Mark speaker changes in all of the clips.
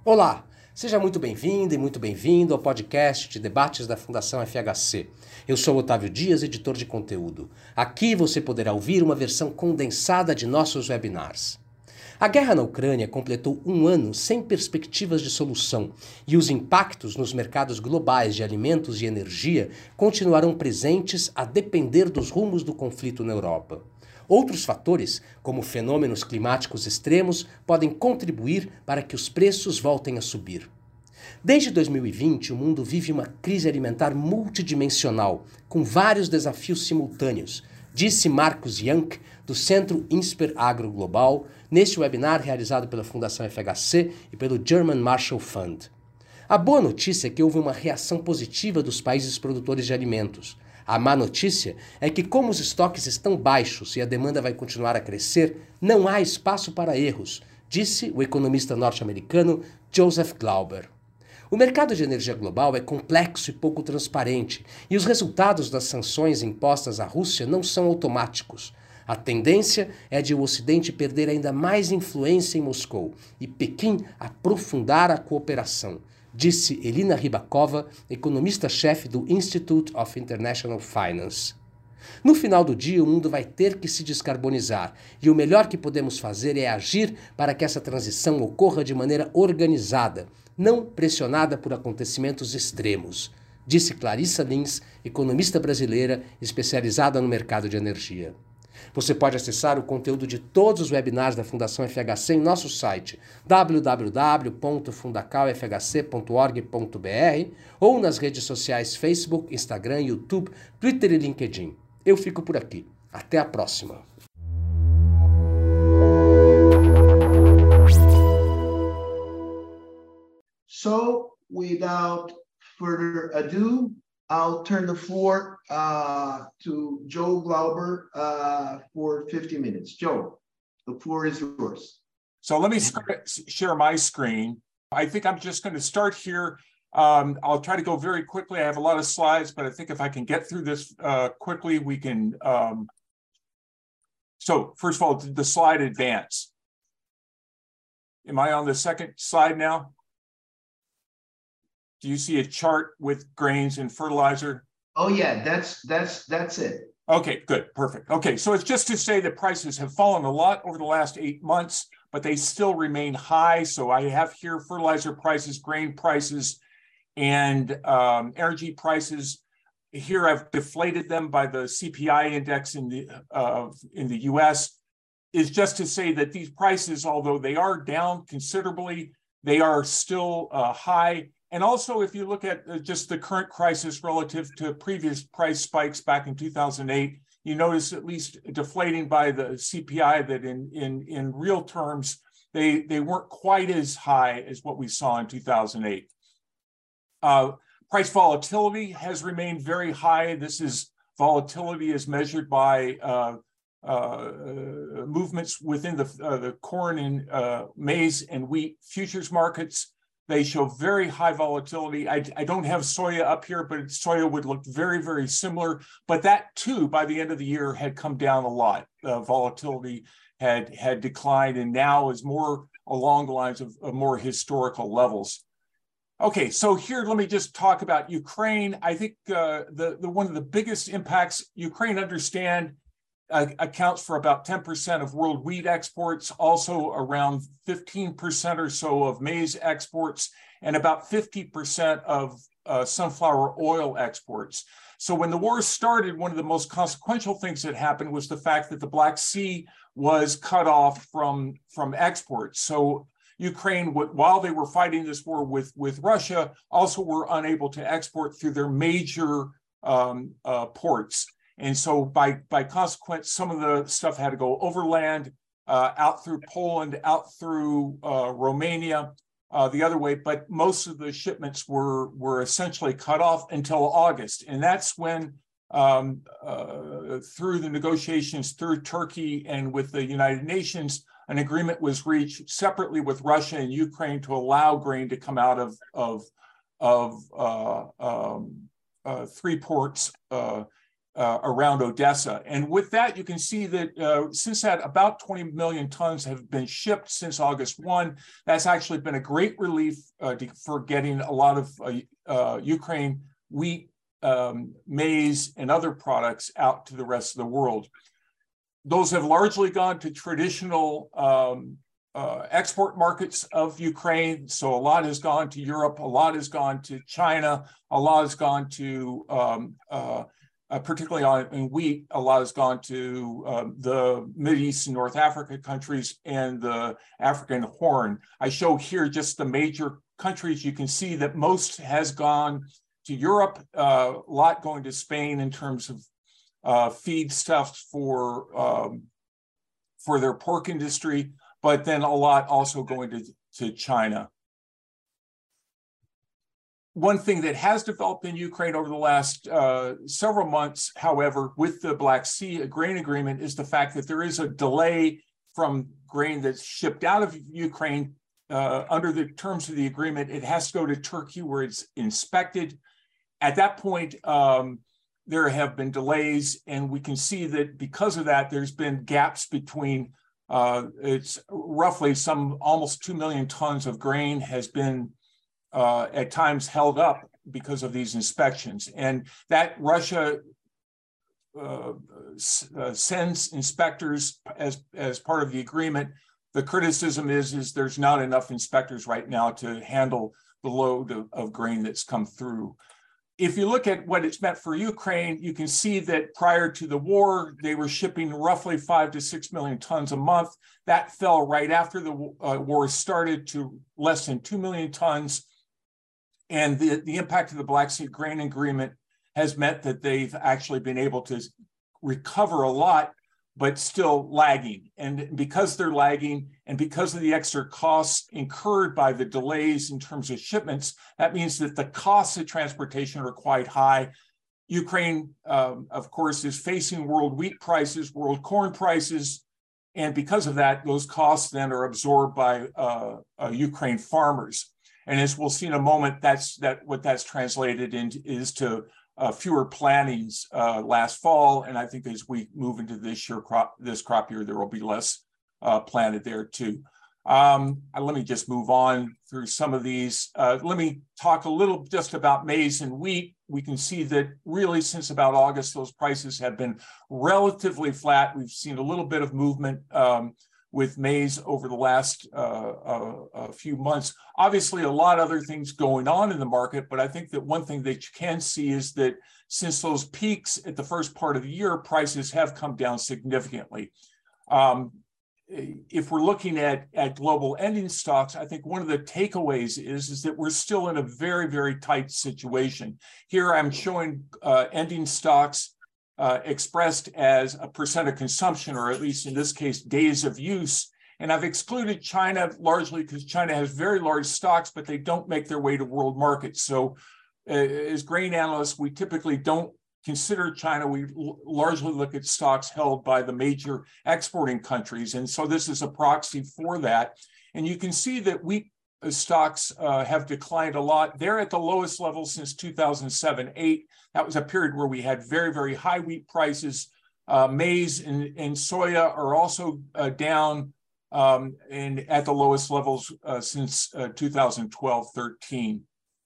Speaker 1: Olá, seja muito bem-vinda e muito bem-vindo ao podcast de debates da Fundação FHC. Eu sou Otávio Dias, editor de conteúdo. Aqui você poderá ouvir uma versão condensada de nossos webinars. A guerra na Ucrânia completou um ano sem perspectivas de solução e os impactos nos mercados globais de alimentos e energia continuarão presentes a depender dos rumos do conflito na Europa. Outros fatores, como fenômenos climáticos extremos, podem contribuir para que os preços voltem a subir. Desde 2020, o mundo vive uma crise alimentar multidimensional, com vários desafios simultâneos, disse Marcus Jank, do Centro Insper Agro Global, neste webinar realizado pela Fundação FHC e pelo German Marshall Fund. A boa notícia é que houve uma reação positiva dos países produtores de alimentos. A má notícia é que, como os estoques estão baixos e a demanda vai continuar a crescer, não há espaço para erros, disse o economista norte-americano Joseph Glauber. O mercado de energia global é complexo e pouco transparente, e os resultados das sanções impostas à Rússia não são automáticos. A tendência é de o Ocidente perder ainda mais influência em Moscou e Pequim aprofundar a cooperação, disse Elina Rybakova, economista-chefe do Institute of International Finance. No final do dia, o mundo vai ter que se descarbonizar, e o melhor que podemos fazer é agir para que essa transição ocorra de maneira organizada, não pressionada por acontecimentos extremos, disse Clarissa Lins, economista brasileira especializada no mercado de energia. Você pode acessar o conteúdo de todos os webinars da Fundação FHC em nosso site www.fundacalfhc.org.br ou nas redes sociais Facebook, Instagram, YouTube, Twitter e LinkedIn. Eu fico por aqui. Até a próxima.
Speaker 2: So, without further ado, I'll turn the floor to Joe Glauber for 50 minutes. Joe, the floor is yours.
Speaker 3: So let me share my screen. I think I'm just going to start here. I'll try to go very quickly. I have a lot of slides, but I think if I can get through this quickly, we can. So first of all, the slide advance. Am I on the second slide now? Do you see a chart with grains and fertilizer?
Speaker 2: Oh yeah, that's it.
Speaker 3: Okay, good, perfect. Okay, so it's just to say that prices have fallen a lot over the last 8 months, but they still remain high. So I have here fertilizer prices, grain prices, and energy prices. Here I've deflated them by the CPI index in the U.S. Is just to say that these prices, although they are down considerably, they are still high. And also, if you look at just the current crisis relative to previous price spikes back in 2008, you notice at least deflating by the CPI that in real terms, they weren't quite as high as what we saw in 2008. Price volatility has remained very high. This is volatility is measured by movements within the corn and maize and wheat futures markets. They show very high volatility. I don't have soya up here, but soya would look very, very similar. But that too, by the end of the year, had come down a lot. Volatility had declined and now is more along the lines of more historical levels. Okay, so here, let me just talk about Ukraine. I think the one of the biggest impacts, Ukraine accounts for about 10% of world wheat exports, also around 15% or so of maize exports, and about 50% of sunflower oil exports. So when the war started, one of the most consequential things that happened was the fact that the Black Sea was cut off from exports. So Ukraine, while they were fighting this war with Russia, also were unable to export through their major ports. And so by consequence, some of the stuff had to go overland, out through Poland, out through Romania, the other way. But most of the shipments were essentially cut off until August. And that's when, through the negotiations through Turkey and with the United Nations, an agreement was reached separately with Russia and Ukraine to allow grain to come out of 3 ports around Odessa. And with that, you can see that since that, about 20 million tons have been shipped since August 1. That's actually been a great relief for getting a lot of Ukraine wheat, maize, and other products out to the rest of the world. Those have largely gone to traditional export markets of Ukraine. So a lot has gone to Europe, a lot has gone to China, a lot has gone to particularly in wheat, a lot has gone to the Mideast and North Africa countries and the African Horn. I show here just the major countries. You can see that most has gone to Europe, a lot going to Spain in terms of feedstuffs for their pork industry, but then a lot also going to China. One thing that has developed in Ukraine over the last several months, however, with the Black Sea grain agreement, is the fact that there is a delay from grain that's shipped out of Ukraine. Under the terms of the agreement, it has to go to Turkey where it's inspected. At that point, there have been delays, and we can see that because of that, there's been gaps between, it's roughly almost 2 million tons of grain has been at times held up because of these inspections. And that Russia sends inspectors as part of the agreement. The criticism is there's not enough inspectors right now to handle the load of grain that's come through. If you look at what it's meant for Ukraine, you can see that prior to the war, they were shipping roughly 5 to 6 million tons a month. That fell right after the war started to less than 2 million tons. And the impact of the Black Sea grain agreement has meant that they've actually been able to recover a lot, but still lagging. And because they're lagging and because of the extra costs incurred by the delays in terms of shipments, that means that the costs of transportation are quite high. Ukraine, of course, is facing world wheat prices, world corn prices, and because of that, those costs then are absorbed by Ukraine farmers. And as we'll see in a moment, what that's translated into is to fewer plantings last fall, and I think as we move into this crop year, there will be less planted there too. Let me just move on through some of these. Let me talk a little just about maize and wheat. We can see that really since about August, those prices have been relatively flat. We've seen a little bit of movement with maize over the last few months. Obviously, a lot of other things going on in the market, but I think that one thing that you can see is that since those peaks at the first part of the year, prices have come down significantly. If we're looking at global ending stocks, I think one of the takeaways is that we're still in a very, very tight situation. Here I'm showing ending stocks expressed as a percent of consumption, or at least in this case, days of use. And I've excluded China largely because China has very large stocks, but they don't make their way to world markets. So as grain analysts, we typically don't consider China. We largely look at stocks held by the major exporting countries. And so this is a proxy for that. And you can see that wheat stocks have declined a lot. They're at the lowest level since 2007-8. That was a period where we had very, very high wheat prices. Maize and soya are also down and at the lowest levels since 2012-13.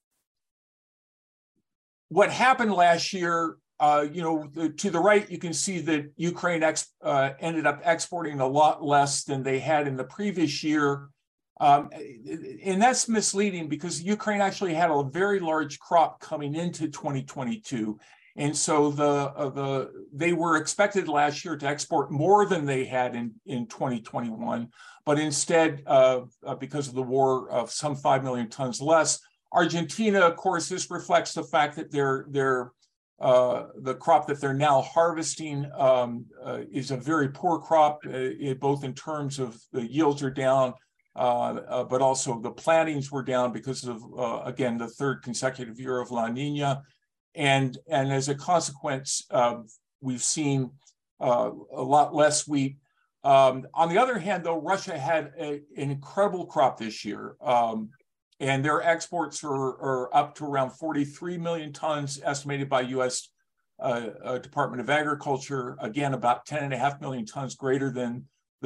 Speaker 3: What happened last year, to the right, you can see that Ukraine ended up exporting a lot less than they had in the previous year. And that's misleading because Ukraine actually had a very large crop coming into 2022. And so they were expected last year to export more than they had in 2021. But instead, because of the war, of some 5 million tons less. Argentina, of course, this reflects the fact that the crop that they're now harvesting is a very poor crop, both in terms of the yields are down, but also the plantings were down because of, again, the third consecutive year of La Nina. And as a consequence, we've seen a lot less wheat. On the other hand, though, Russia had an incredible crop this year. And their exports are up to around 43 million tons estimated by U.S. Department of Agriculture, again, about 10.5 million tons greater than the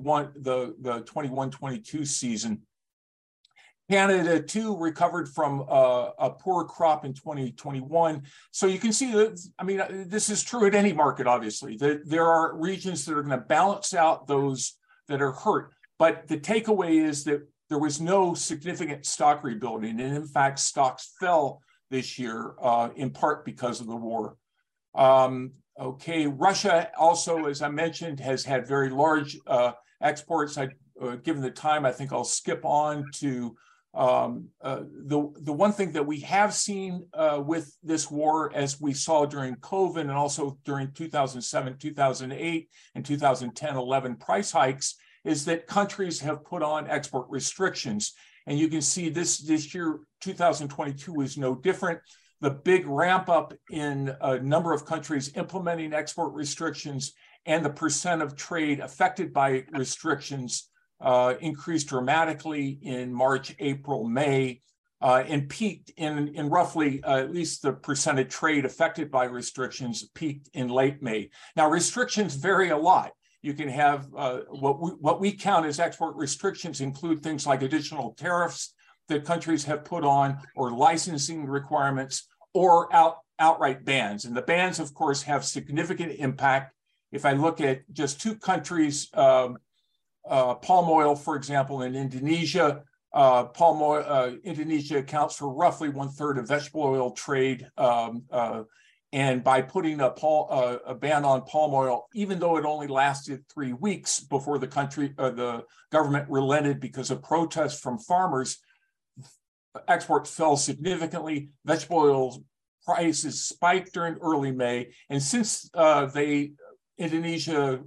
Speaker 3: 21-22 season. Canada, too, recovered from a poor crop in 2021. So you can see that, I mean, this is true at any market, obviously. There are regions that are going to balance out those that are hurt. But the takeaway is that there was no significant stock rebuilding. And in fact, stocks fell this year, in part because of the war. Okay, Russia also, as I mentioned, has had very large exports. Given the time, I think I'll skip on to the one thing that we have seen with this war, as we saw during COVID and also during 2007, 2008, and 2010-11 price hikes, is that countries have put on export restrictions. And you can see this year, 2022 is no different. The big ramp up in a number of countries implementing export restrictions and the percent of trade affected by restrictions increased dramatically in March, April, May, and peaked in roughly, at least the percent of trade affected by restrictions peaked in late May. Now, restrictions vary a lot. You can have what we count as export restrictions include things like additional tariffs that countries have put on, or licensing requirements, or outright bans. And the bans, of course, have significant impact. If I look at just two countries, palm oil, for example, in Indonesia, Indonesia accounts for roughly 1/3 of vegetable oil trade. And by putting a ban on palm oil, even though it only lasted 3 weeks before the government relented because of protests from farmers, exports fell significantly. Vegetable oil prices spiked during early May, and since Indonesia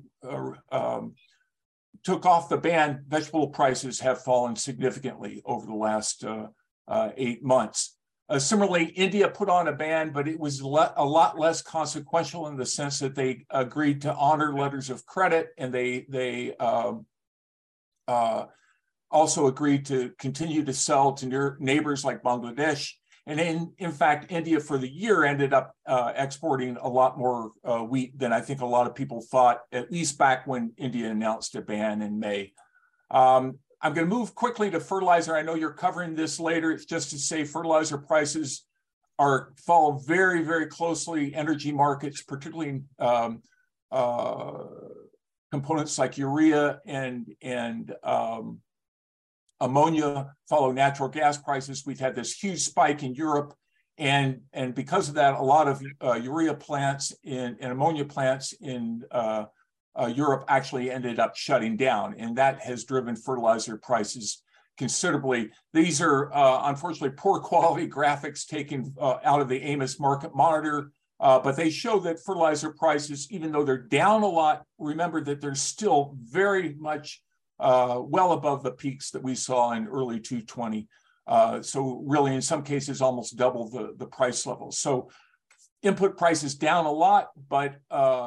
Speaker 3: took off the ban, vegetable prices have fallen significantly over the last 8 months. Similarly, India put on a ban, but it was a lot less consequential in the sense that they agreed to honor letters of credit, and they also agreed to continue to sell to neighbors like Bangladesh. And in fact, India for the year ended up exporting a lot more wheat than I think a lot of people thought, at least back when India announced a ban in May. I'm going to move quickly to fertilizer. I know you're covering this later. It's just to say fertilizer prices follow very, very closely energy markets, particularly components like urea and ammonia follow natural gas prices. We've had this huge spike in Europe, and because of that, a lot of urea plants and ammonia plants in Europe actually ended up shutting down, and that has driven fertilizer prices considerably. These are unfortunately poor quality graphics taken out of the Amos Market Monitor, but they show that fertilizer prices, even though they're down a lot, remember that they're still very much well above the peaks that we saw in early 2020. So really, in some cases, almost double the price levels. So input prices down a lot, but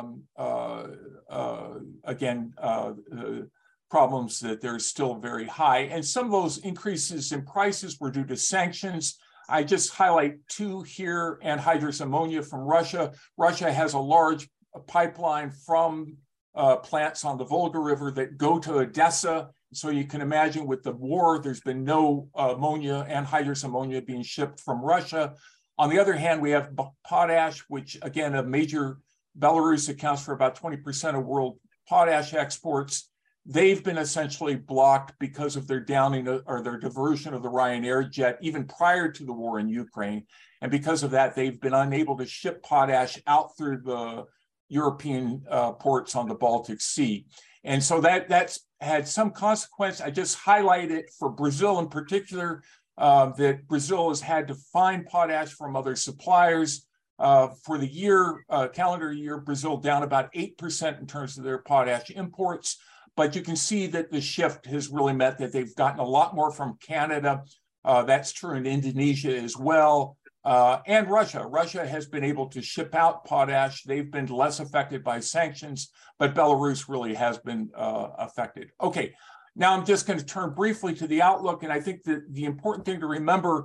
Speaker 3: again, the problems that they're still very high. And some of those increases in prices were due to sanctions. I just highlight two here: anhydrous ammonia from Russia. Russia has a large pipeline from plants on the Volga River that go to Odessa. So you can imagine with the war, there's been no anhydrous ammonia being shipped from Russia. On the other hand, we have potash, which again, Belarus accounts for about 20% of world potash exports. They've been essentially blocked because of their downing or their diversion of the Ryanair jet, even prior to the war in Ukraine. And because of that, they've been unable to ship potash out through the European ports on the Baltic Sea. And so that's had some consequence. I just highlight it for Brazil in particular, that Brazil has had to find potash from other suppliers. For the year, calendar year, Brazil down about 8% in terms of their potash imports. But you can see that the shift has really meant that they've gotten a lot more from Canada. That's true in Indonesia as well. And Russia. Russia has been able to ship out potash. They've been less affected by sanctions, but Belarus really has been affected. Okay, now I'm just going to turn briefly to the outlook. And I think that the important thing to remember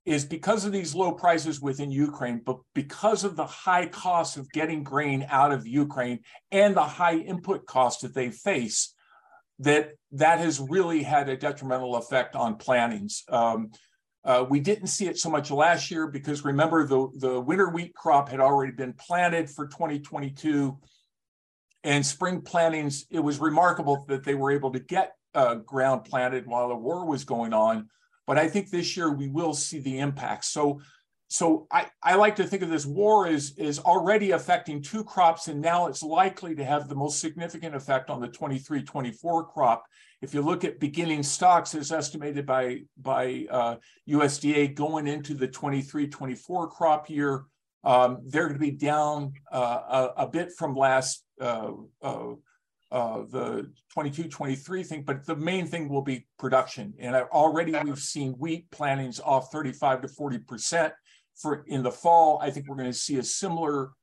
Speaker 3: is because of these low prices within Ukraine, but because of the high cost of getting grain out of Ukraine and the high input cost that they face, that has really had a detrimental effect on plantings. We didn't see it so much last year because remember the winter wheat crop had already been planted for 2022, and spring plantings, it was remarkable that they were able to get ground planted while the war was going on. But I think this year we will see the impact. So I like to think of this war as already affecting two crops, and now it's likely to have the most significant effect on the 23-24 crop. If you look at beginning stocks as estimated by USDA going into the 23-24 crop year, they're going to be down a bit from last the 22-23 thing, but the main thing will be production. And already we've seen wheat plantings off 35 to 40% for in the fall. I think we're going to see a similar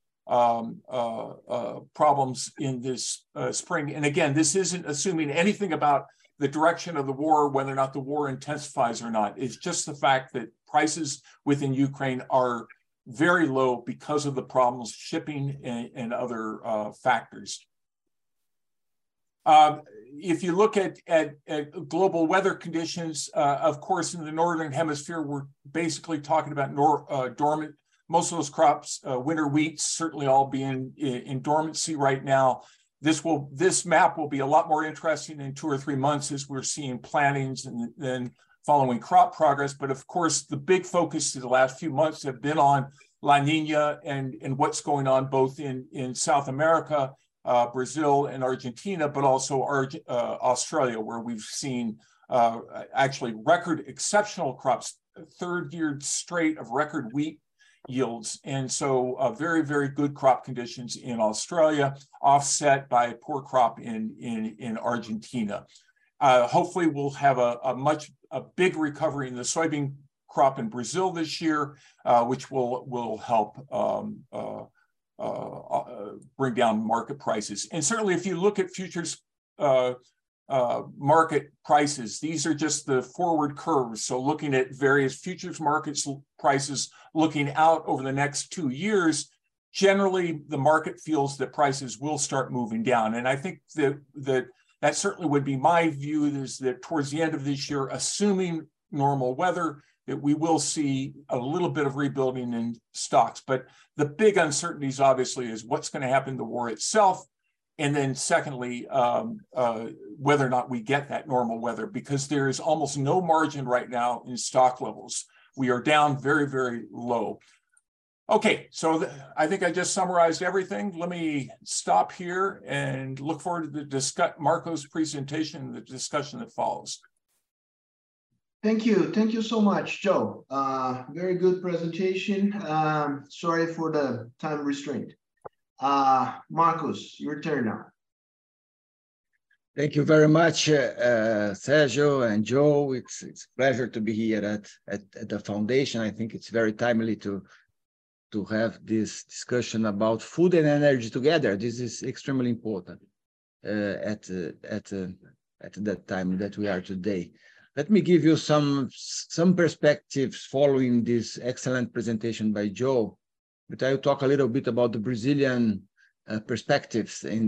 Speaker 3: problems in this spring. And again, this isn't assuming anything about the direction of the war, whether or not the war intensifies or not. It's just the fact that prices within Ukraine are very low because of the problems shipping and other factors. If you look at global weather conditions, of course, in the Northern Hemisphere, we're basically talking about dormant. Most of those crops, winter wheats, certainly all being in dormancy right now. This map will be a lot more interesting in 2 or 3 months as we're seeing plantings and then following crop progress. But of course, the big focus of the last few months have been on La Nina and what's going on both in South America, Brazil and Argentina, but also Australia, where we've seen actually record exceptional crops, third year straight of record wheat yields. And so very, very good crop conditions in Australia, offset by a poor crop in Argentina. Hopefully we'll have a big recovery in the soybean crop in Brazil this year, which will help bring down market prices. And certainly if you look at futures market prices, these are just the forward curves. So looking at various futures markets prices looking out over the next 2 years, generally the market feels that prices will start moving down. And I think that certainly would be my view, is that towards the end of this year, assuming normal weather, that we will see a little bit of rebuilding in stocks. But the big uncertainties obviously is what's going to happen to the war itself. And then secondly, whether or not we get that normal weather, because there is almost no margin right now in stock levels. We are down very, very low. Okay, so I think I just summarized everything. Let me stop here and look forward to Marco's presentation and the discussion that follows.
Speaker 2: Thank you so much, Joe. Very good presentation. Sorry for the time restraint. Marcos, your turn now.
Speaker 4: Thank you very much, Sergio and Joe. It's a pleasure to be here at the foundation. I think it's very timely to have this discussion about food and energy together. This is extremely important at that time that we are today. Let me give you some perspectives following this excellent presentation by Joe. But I'll talk a little bit about the Brazilian perspectives in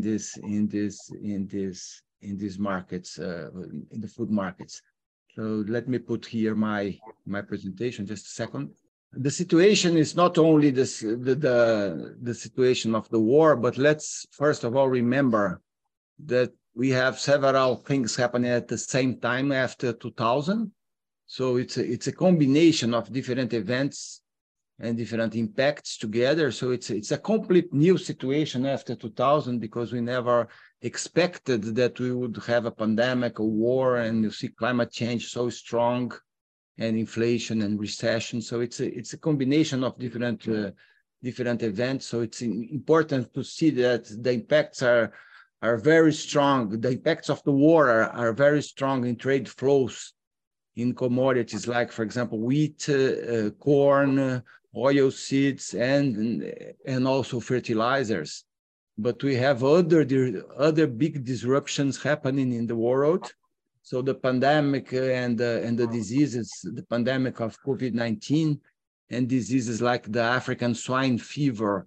Speaker 4: these markets, in the food markets. So let me put here my presentation. Just a second. The situation is not only the situation of the war, but let's first of all remember that we have several things happening at the same time after 2000. So it's a combination of different events and different impacts together. So it's a complete new situation after 2000, because we never expected that we would have a pandemic, a war, and you see climate change so strong, and inflation and recession. So it's a combination of different events. So it's important to see that the impacts are very strong. The impacts of the war are very strong in trade flows in commodities like, for example, wheat, corn, oil seeds, and also fertilizers. But we have other big disruptions happening in the world. So the pandemic and the diseases, the pandemic of COVID-19 and diseases like the African swine fever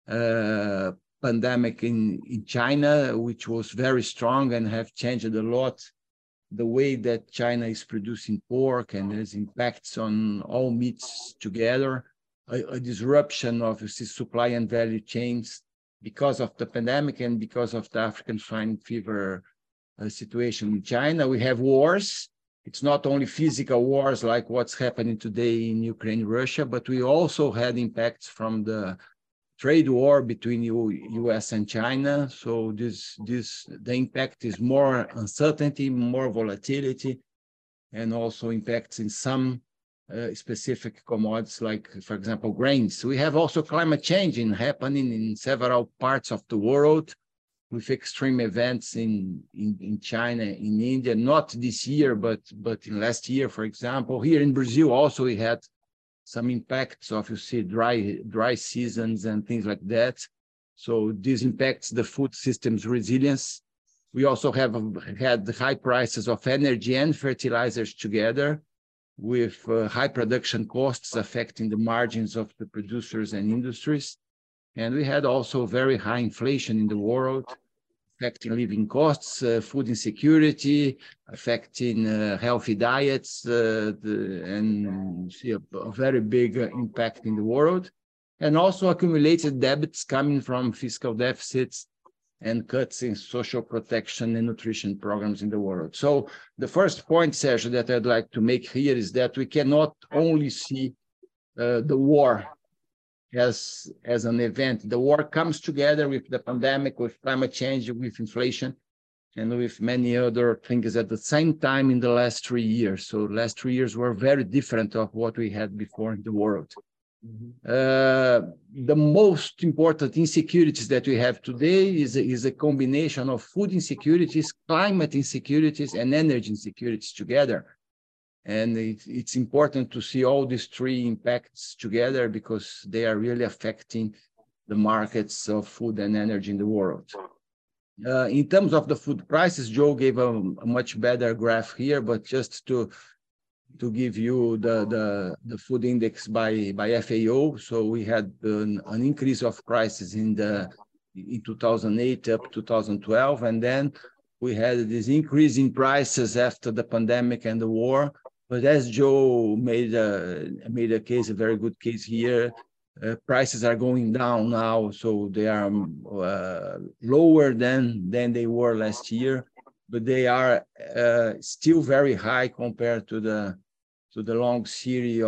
Speaker 4: pandemic in China, which was very strong and have changed a lot the way that China is producing pork, and there's impacts on all meats together, a disruption of supply and value chains because of the pandemic and because of the African swine fever situation in China. We have wars. It's not only physical wars like what's happening today in Ukraine, Russia, but we also had impacts from the trade war between US and China. So the impact is more uncertainty, more volatility, and also impacts in some specific commodities, like, for example, grains. We have also climate change happening in several parts of the world, with extreme events in China, in India, not this year, but in last year, for example. Here in Brazil also we had some impacts of, you see, dry seasons and things like that. So this impacts the food system's resilience. We also have had high prices of energy and fertilizers together, with high production costs affecting the margins of the producers and industries. And we had also very high inflation in the world, affecting living costs, food insecurity, affecting healthy diets, and see a very big impact in the world. And also accumulated debts coming from fiscal deficits and cuts in social protection and nutrition programs in the world. So the first point, Sergio, that I'd like to make here is that we cannot only see the war as an event. The war comes together with the pandemic, with climate change, with inflation, and with many other things at the same time in the last 3 years. So the last 3 years were very different of what we had before in the world. The most important insecurities that we have today is a combination of food insecurities, climate insecurities, and energy insecurities together. And it's important to see all these three impacts together, because they are really affecting the markets of food and energy in the world. In terms of the food prices, Joe gave a much better graph here, but just to give you the food index by FAO. So we had an increase of prices in 2008 up to 2012, and then we had this increase in prices after the pandemic and the war. But as Joe made a case, a very good case here, prices are going down now, so they are lower than they were last year, but they are still very high compared to the long series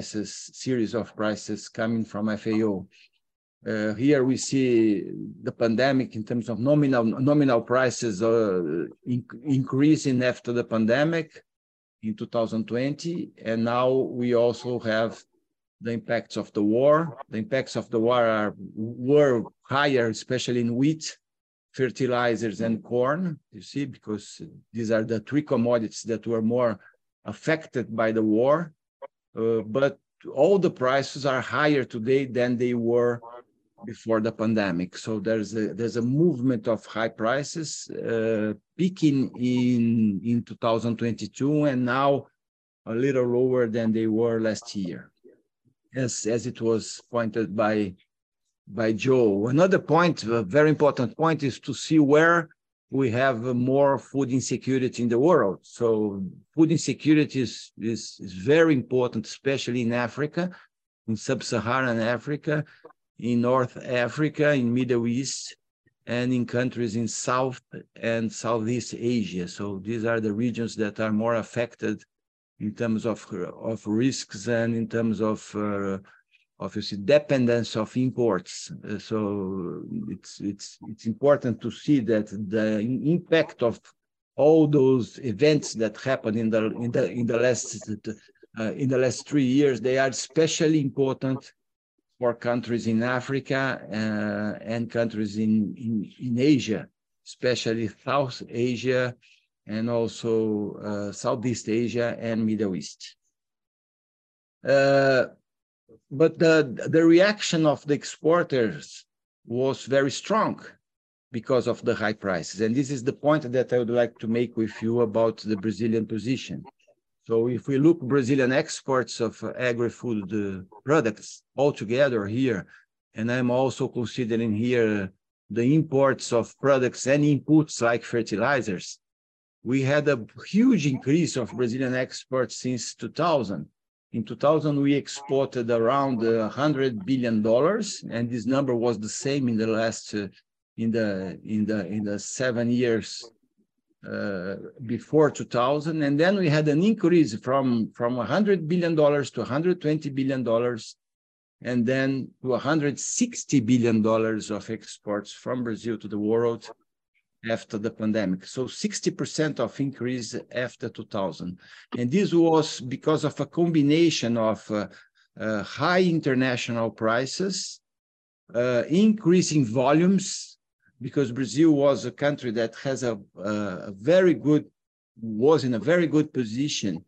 Speaker 4: of prices coming from FAO. Here we see the pandemic in terms of nominal prices increasing after the pandemic in 2020, and now we also have the impacts of the war. The impacts of the war were higher, especially in wheat, fertilizers, and corn, you see, because these are the three commodities that were more affected by the war. But all the prices are higher today than they were before the pandemic. So there's a movement of high prices peaking in 2022, and now a little lower than they were last year, as it was pointed by Joe. Another point, a very important point, is to see where we have more food insecurity in the world. So food insecurity is very important, especially in Africa, in sub-Saharan Africa, in North Africa, in Middle East, and in countries in South and Southeast Asia. So these are the regions that are more affected in terms of risks and in terms of dependence of imports. So it's important to see that the impact of all those events that happened in the last 3 years, they are especially important for countries in Africa and countries in Asia, especially South Asia and also Southeast Asia and Middle East. But the reaction of the exporters was very strong. because of the high prices. And this is the point that I would like to make with you about the Brazilian position. So if we look Brazilian exports of agri-food products altogether here, and I'm also considering here the imports of products and inputs like fertilizers, we had a huge increase of Brazilian exports since 2000. In 2000, we exported around $100 billion, and this number was the same in the last in the 7 years before 2000. And then we had an increase from $100 billion to $120 billion, and then to $160 billion of exports from Brazil to the world after the pandemic. So 60% of increase after 2000. And this was because of a combination of high international prices, increasing volumes, because Brazil was a country that has was in a very good position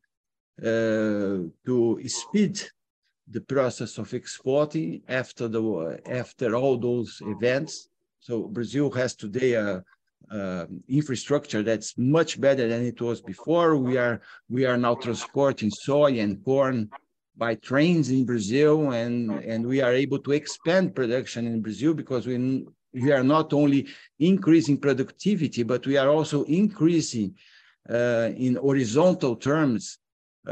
Speaker 4: to speed the process of exporting after all those events. So Brazil has today a infrastructure that's much better than it was before. We are now transporting soy and corn by trains in Brazil, and we are able to expand production in Brazil because we are not only increasing productivity, but we are also increasing in horizontal terms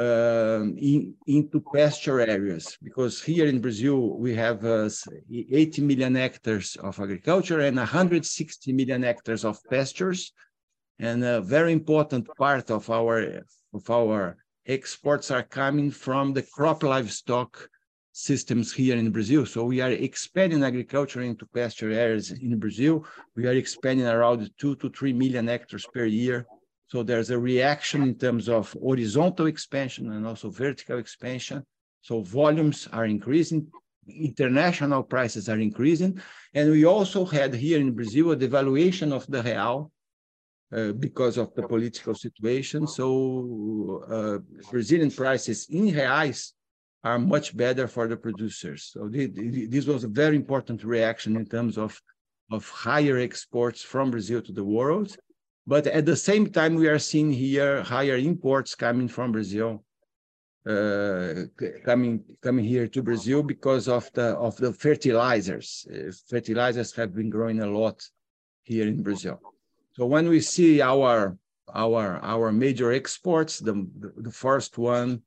Speaker 4: into pasture areas, because here in Brazil we have 80 million hectares of agriculture and 160 million hectares of pastures, and a very important part of our exports are coming from the crop livestock systems here in Brazil. So we are expanding agriculture into pasture areas in Brazil. We are expanding around 2 to 3 million hectares per year. So there's a reaction in terms of horizontal expansion and also vertical expansion. So volumes are increasing, international prices are increasing. And we also had here in Brazil a devaluation of the real because of the political situation. So Brazilian prices in reais are much better for the producers. So this was a very important reaction in terms of higher exports from Brazil to the world. But at the same time, we are seeing here higher imports coming from Brazil, coming here to Brazil because of the fertilizers. Fertilizers have been growing a lot here in Brazil. So when we see our major exports, the first one,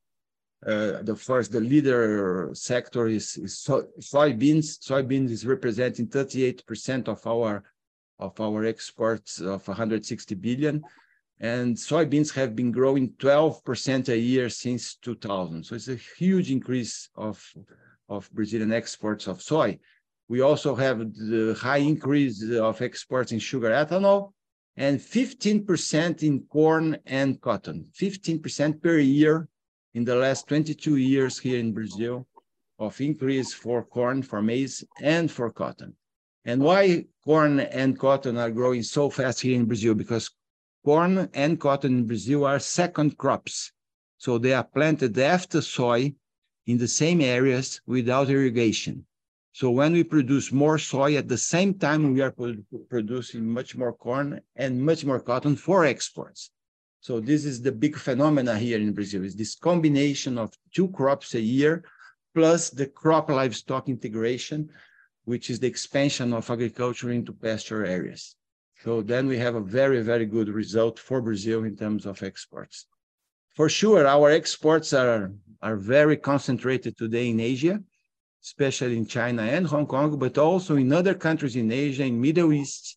Speaker 4: the leader sector is soybeans. Soybeans is representing 38% of our exports of 160 billion. And soybeans have been growing 12% a year since 2000. So it's a huge increase of Brazilian exports of soy. We also have the high increase of exports in sugar ethanol and 15% in corn and cotton, 15% per year in the last 22 years here in Brazil of increase for corn, for maize, and for cotton. And why corn and cotton are growing so fast here in Brazil? Because corn and cotton in Brazil are second crops. So they are planted after soy in the same areas without irrigation. So when we produce more soy, at the same time, we are producing much more corn and much more cotton for exports. So this is the big phenomena here in Brazil, is this combination of 2 crops a year, plus the crop livestock integration, which is the expansion of agriculture into pasture areas. So then we have a very, very good result for Brazil in terms of exports. For sure, our exports are very concentrated today in Asia, especially in China and Hong Kong, but also in other countries in Asia, in Middle East.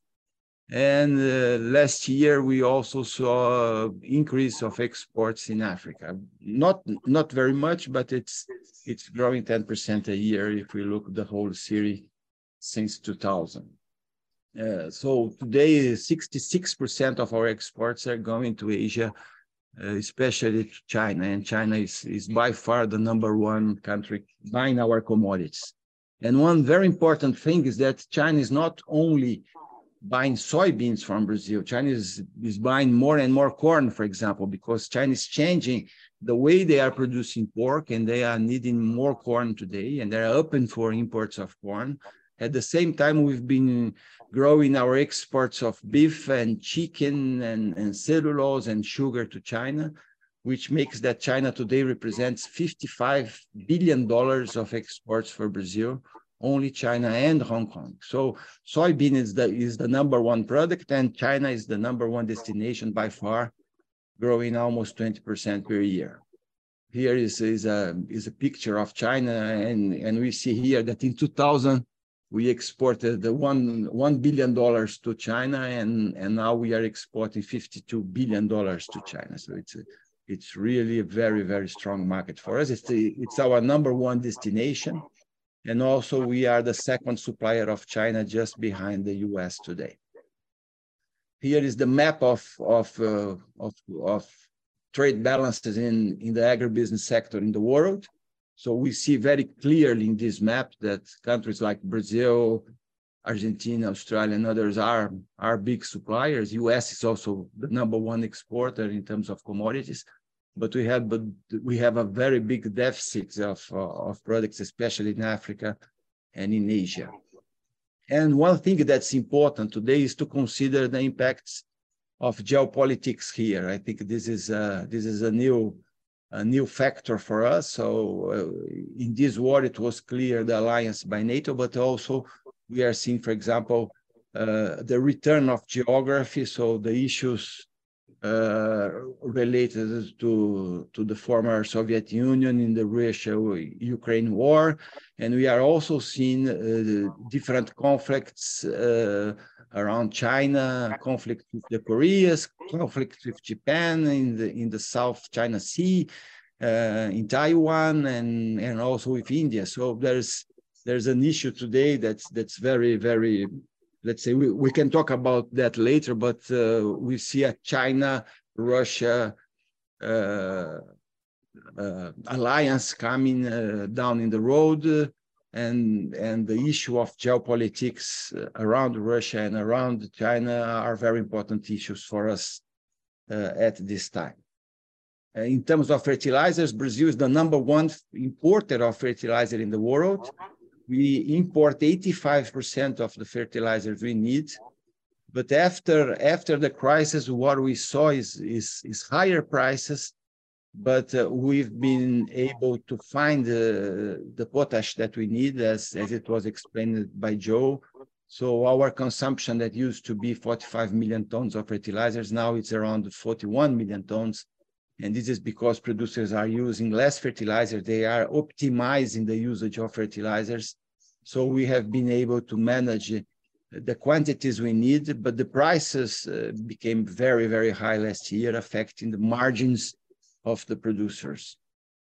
Speaker 4: And last year, we also saw an increase of exports in Africa. Not very much, but it's growing 10% a year if we look at the whole series since 2000. So today, 66% of our exports are going to Asia, especially to China. And China is by far the #1 country buying our commodities. And one very important thing is that China is not only buying soybeans from Brazil. China is buying more and more corn, for example, because China is changing the way they are producing pork, and they are needing more corn today, and they're open for imports of corn. At the same time, we've been growing our exports of beef and chicken and cellulose and sugar to China, which makes that China today represents $55 billion of exports for Brazil, only China and Hong Kong. So soybean is the number one product, and China is the number one destination by far, growing almost 20% per year. Here is a picture of China, and we see here that in 2000, we exported the $1 billion to China, and now we are exporting $52 billion to China. So it's really a very, very strong market for us. It's our number one destination. And also we are the second supplier of China, just behind the US today. Here is the map of trade balances in the agribusiness sector in the world. So we see very clearly in this map that countries like Brazil, Argentina, Australia, and others are big suppliers. US is also the number one exporter in terms of commodities, but we have a very big deficit of products, especially in Africa and in Asia. And one thing that's important today is to consider the impacts of geopolitics here. I think this is a new factor for us. So in this war, it was clear the alliance by NATO, but also we are seeing, for example, the return of geography. So the issues related to the former Soviet Union in the Russia-Ukraine war. And we are also seeing different conflicts around China, conflict with the Koreas, conflict with Japan in the South China Sea, in Taiwan, and also with India. So there's an issue today that's very, very, let's say, we can talk about that later, but we see a China-Russia alliance coming down in the road, and the issue of geopolitics around Russia and around China are very important issues for us at this time. In terms of fertilizers, Brazil is the number one importer of fertilizer in the world. We import 85% of the fertilizers we need. But after the crisis, what we saw is higher prices, but we've been able to find the potash that we need, as it was explained by Joe. So our consumption that used to be 45 million tons of fertilizers, now it's around 41 million tons. And this is because producers are using less fertilizer. They are optimizing the usage of fertilizers. So we have been able to manage the quantities we need, but the prices became very, very high last year, affecting the margins of the producers.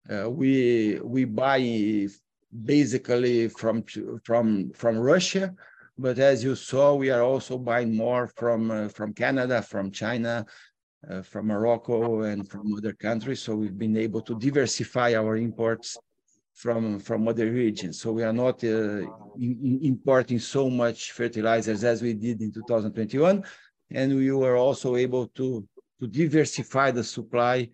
Speaker 4: We buy basically from Russia, but as you saw, we are also buying more from Canada, from China, from Morocco, and from other countries. So we've been able to diversify our imports from other regions. So we are not importing so much fertilizers as we did in 2021. And we were also able to diversify the supply,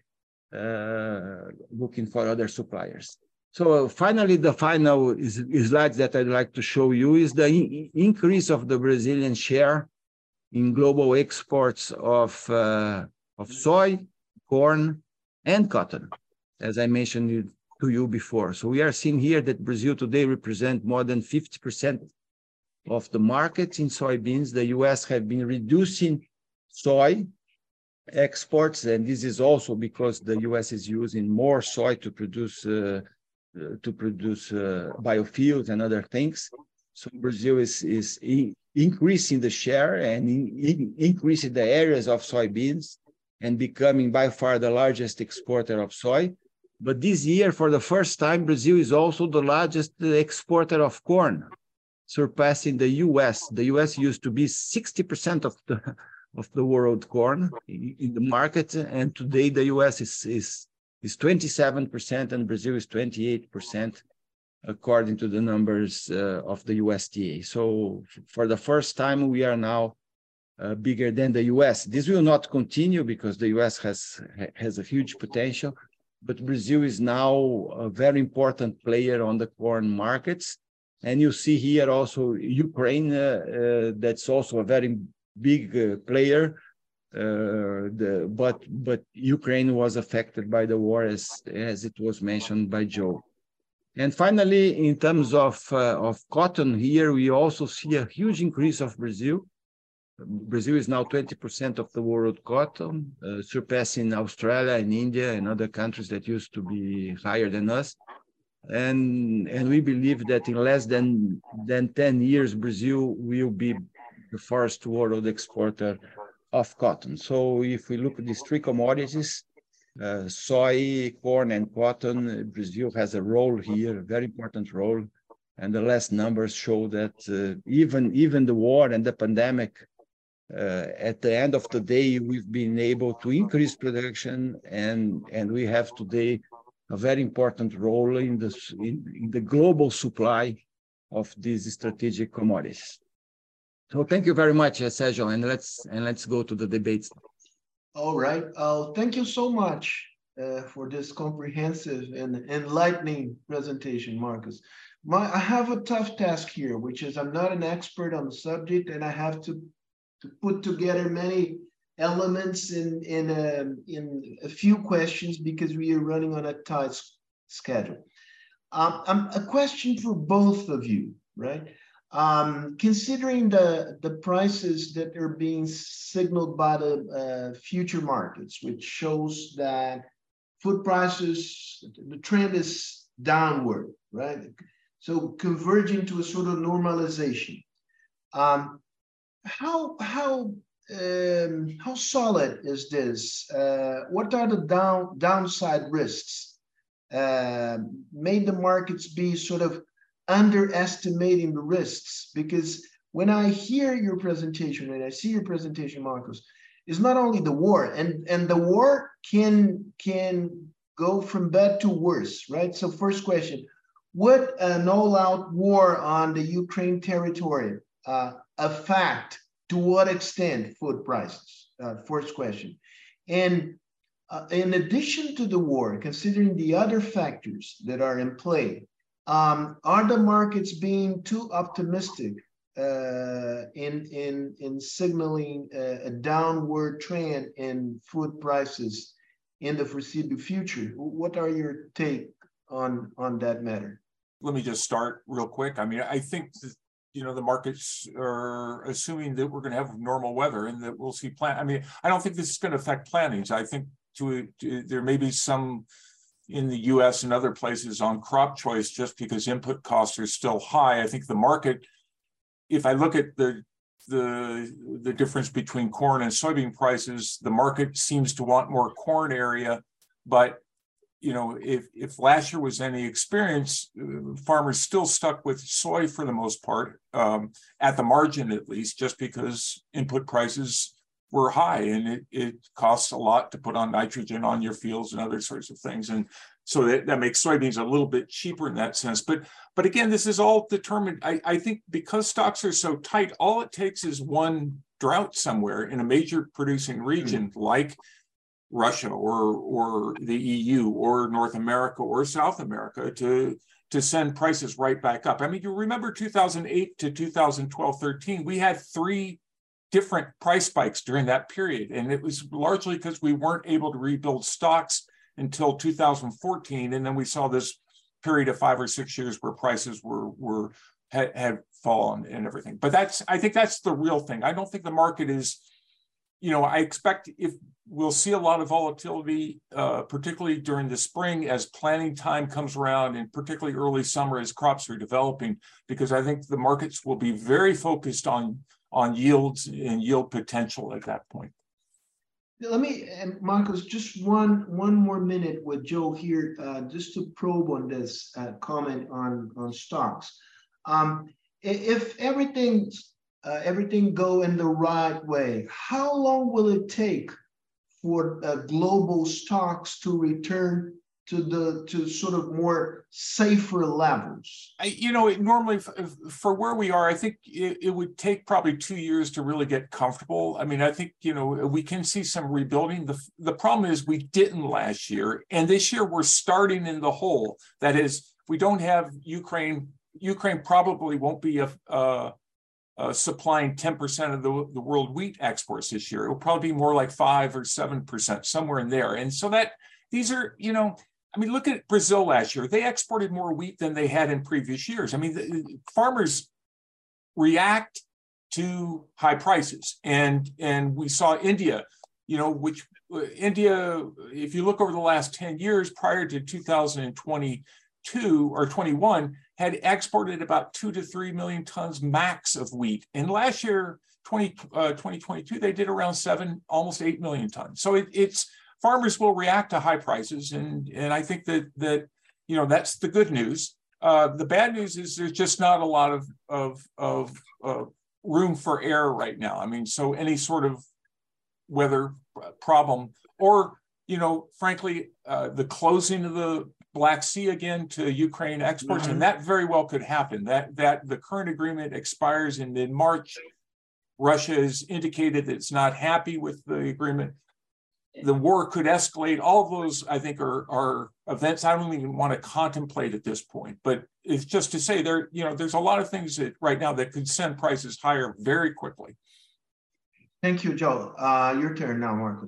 Speaker 4: looking for other suppliers. So finally, the final slide that I'd like to show you is the increase of the Brazilian share in global exports of soy, corn, and cotton, as I mentioned to you before. So we are seeing here that Brazil today represents more than 50% of the market in soybeans. The US have been reducing soy exports, and this is also because the US is using more soy to produce biofuels and other things. So Brazil is increasing the share and increasing the areas of soybeans and becoming by far the largest exporter of soy. But this year, for the first time, Brazil is also the largest exporter of corn, surpassing the US. The US used to be 60% of the world corn in the market, and today the US is 27% and Brazil is 28%, according to the numbers of the USDA. So for the first time, we are now bigger than the US. This will not continue because the US has a huge potential, but Brazil is now a very important player on the corn markets. And you see here also Ukraine, that's also a very big player. But Ukraine was affected by the war, as it was mentioned by Joe. And finally, in terms of cotton here, we also see a huge increase of Brazil. Brazil is now 20% of the world cotton, surpassing Australia and India and other countries that used to be higher than us. And we believe that in less than 10 years, Brazil will be the first world exporter of cotton. So if we look at these three commodities, soy, corn, and cotton, Brazil has a role here, a very important role. And the last numbers show that even the war and the pandemic, at the end of the day, we've been able to increase production, and we have today a very important role in the global supply of these strategic commodities. So thank you very much, Sergio, and let's go to the debates.
Speaker 2: All right. Thank you so much for this comprehensive and enlightening presentation, Marcos. I have a tough task here, which is I'm not an expert on the subject, and I have to put together many elements in a few questions because we are running on a tight schedule. A question for both of you, right? Considering the prices that are being signaled by the future markets, which shows that food prices, the trend is downward, right? So converging to a sort of normalization. How solid is this? What are the downside risks? May the markets be sort of underestimating the risks? Because when I hear your presentation and I see your presentation, Marcos, it's not only the war, and the war can go from bad to worse, right? So first question, would an all-out war on the Ukraine territory affect, to what extent, food prices? First question. And in addition to the war, considering the other factors that are in play, are the markets being too optimistic in signaling a downward trend in food prices in the foreseeable future? What are your take on that matter?
Speaker 3: Let me just start real quick. I mean, I think that, the markets are assuming that we're going to have normal weather and that we'll see I mean, I don't think this is going to affect plantings. I think there may be some in the US and other places on crop choice just because input costs are still high. I think the market, if I look at the difference between corn and soybean prices, the market seems to want more corn area, but if last year was any experience, farmers still stuck with soy for the most part, at the margin at least, just because input prices were high and it costs a lot to put on nitrogen on your fields and other sorts of things. And so that makes soybeans a little bit cheaper in that sense. But again, this is all determined. I think because stocks are so tight, all it takes is one drought somewhere in a major producing region like Russia or the EU or North America or South America to send prices right back up. I mean, you remember 2008 to 2012-13, we had 3 different price spikes during that period. And it was largely because we weren't able to rebuild stocks until 2014. And then we saw this period of 5 or 6 years where prices had fallen and everything. But I think that's the real thing. I don't think the market is, I expect we'll see a lot of volatility, particularly during the spring as planting time comes around, and particularly early summer as crops are developing, because I think the markets will be very focused on yields and yield potential at that point.
Speaker 2: Let me, Marcos, just one more minute with Joe here, just to probe on this comment on stocks. If everything go in the right way, how long will it take for global stocks to return to sort of more safer levels?
Speaker 3: Normally for where we are, I think it would take probably 2 years to really get comfortable. I mean, I think, we can see some rebuilding. The problem is we didn't last year, and this year we're starting in the hole. That is, we don't have Ukraine Ukraine probably won't be supplying 10% of the world wheat exports this year. It will probably be more like 5 or 7%, somewhere in there. And so that these are, I mean, look at Brazil last year. They exported more wheat than they had in previous years. I mean, the farmers react to high prices. And we saw India, India, if you look over the last 10 years prior to 2022 or 21, had exported about 2 to 3 million tons max of wheat. And last year, 2022, they did around almost 8 million tons. So it's farmers will react to high prices. And I think that that's the good news. The bad news is there's just not a lot of room for error right now. I mean, so any sort of weather problem or, frankly, the closing of the Black Sea again to Ukraine exports, and that very well could happen. That the current agreement expires in mid-March. Russia has indicated that it's not happy with the agreement. The war could escalate. All of those, I think, are events I don't even want to contemplate at this point. But it's just to say there's a lot of things that right now that could send prices higher very quickly.
Speaker 2: Thank you, Joe. Your turn now, Marcus.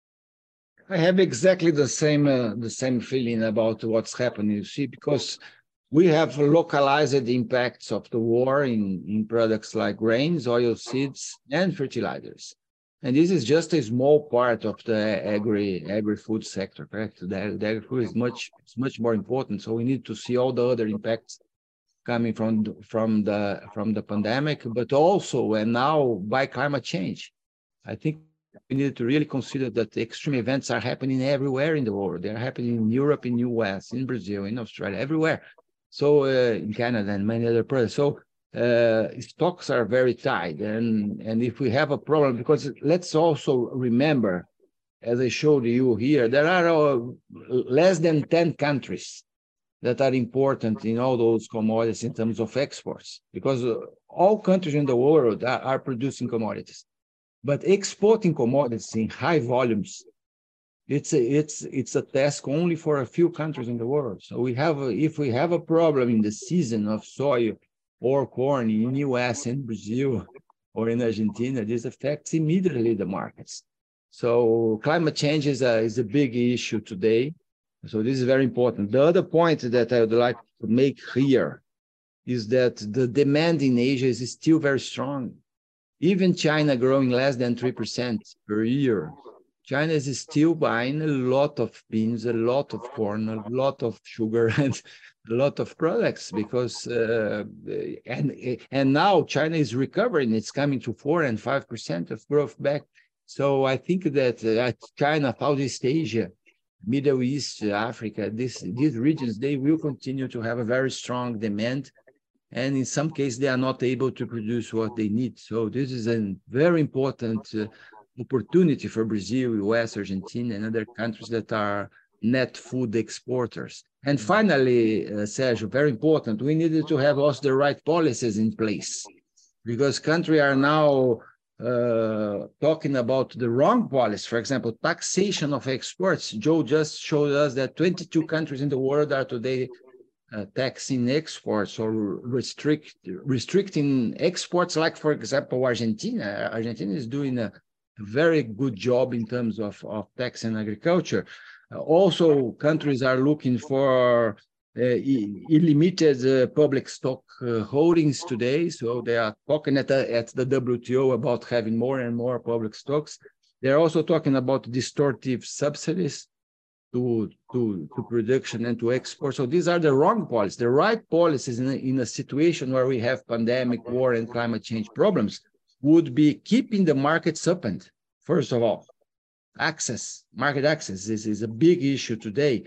Speaker 4: I have exactly the same feeling about what's happening, you see, because we have localized the impacts of the war in products like grains, oil seeds, and fertilizers. And this is just a small part of the agri-food sector, correct? The agri-food is much more important. So we need to see all the other impacts coming from the pandemic, but also and now by climate change. I think we need to really consider that the extreme events are happening everywhere in the world. They're happening in Europe, in the US, in Brazil, in Australia, everywhere. So in Canada and many other places. So stocks are very tight. And if we have a problem, because let's also remember, as I showed you here, there are less than 10 countries that are important in all those commodities in terms of exports, because all countries in the world are producing commodities. But exporting commodities in high volumes, it's a task only for a few countries in the world. So if we have a problem in the season of soy or corn in the US and Brazil or in Argentina, this affects immediately the markets. So climate change is a big issue today. So this is very important. The other point that I would like to make here is that the demand in Asia is still very strong. Even China growing less than 3% per year, China is still buying a lot of beans, a lot of corn, a lot of sugar, and a lot of products because, and now China is recovering. It's coming to 4 and 5% of growth back. So I think that China, Southeast Asia, Middle East, Africa, these regions, they will continue to have a very strong demand. And in some cases, they are not able to produce what they need. So this is a very important opportunity for Brazil, US, Argentina, and other countries that are net food exporters. And finally, Sergio, very important, we needed to have also the right policies in place because countries are now talking about the wrong policy. For example, taxation of exports. Joe just showed us that 22 countries in the world are today taxing exports or restricting exports, like, for example, Argentina. Argentina is doing a very good job in terms of taxing agriculture. Also, countries are looking for unlimited public stock holdings today. So they are talking at the WTO about having more and more public stocks. They're also talking about distortive subsidies to production and to export. So these are the wrong policies. The right policies in a situation where we have pandemic, war, and climate change problems would be keeping the markets open. First of all, market access is a big issue today.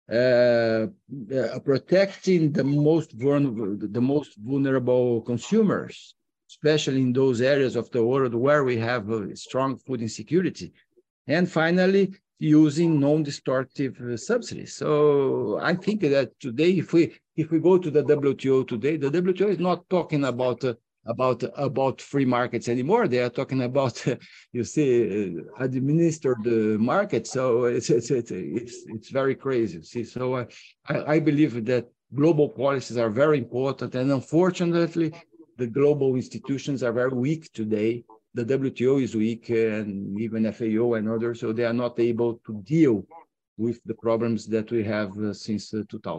Speaker 4: Protecting the most vulnerable consumers, especially in those areas of the world where we have a strong food insecurity. And finally, using non-distortive subsidies. So I think that today, if we go to the WTO today, the WTO is not talking about free markets anymore. They are talking about administered market. So it's very crazy. See, so I believe that global policies are very important. And unfortunately, the global institutions are very weak today. The WTO is weak, and even FAO and others, so they are not able to deal with the problems that we have since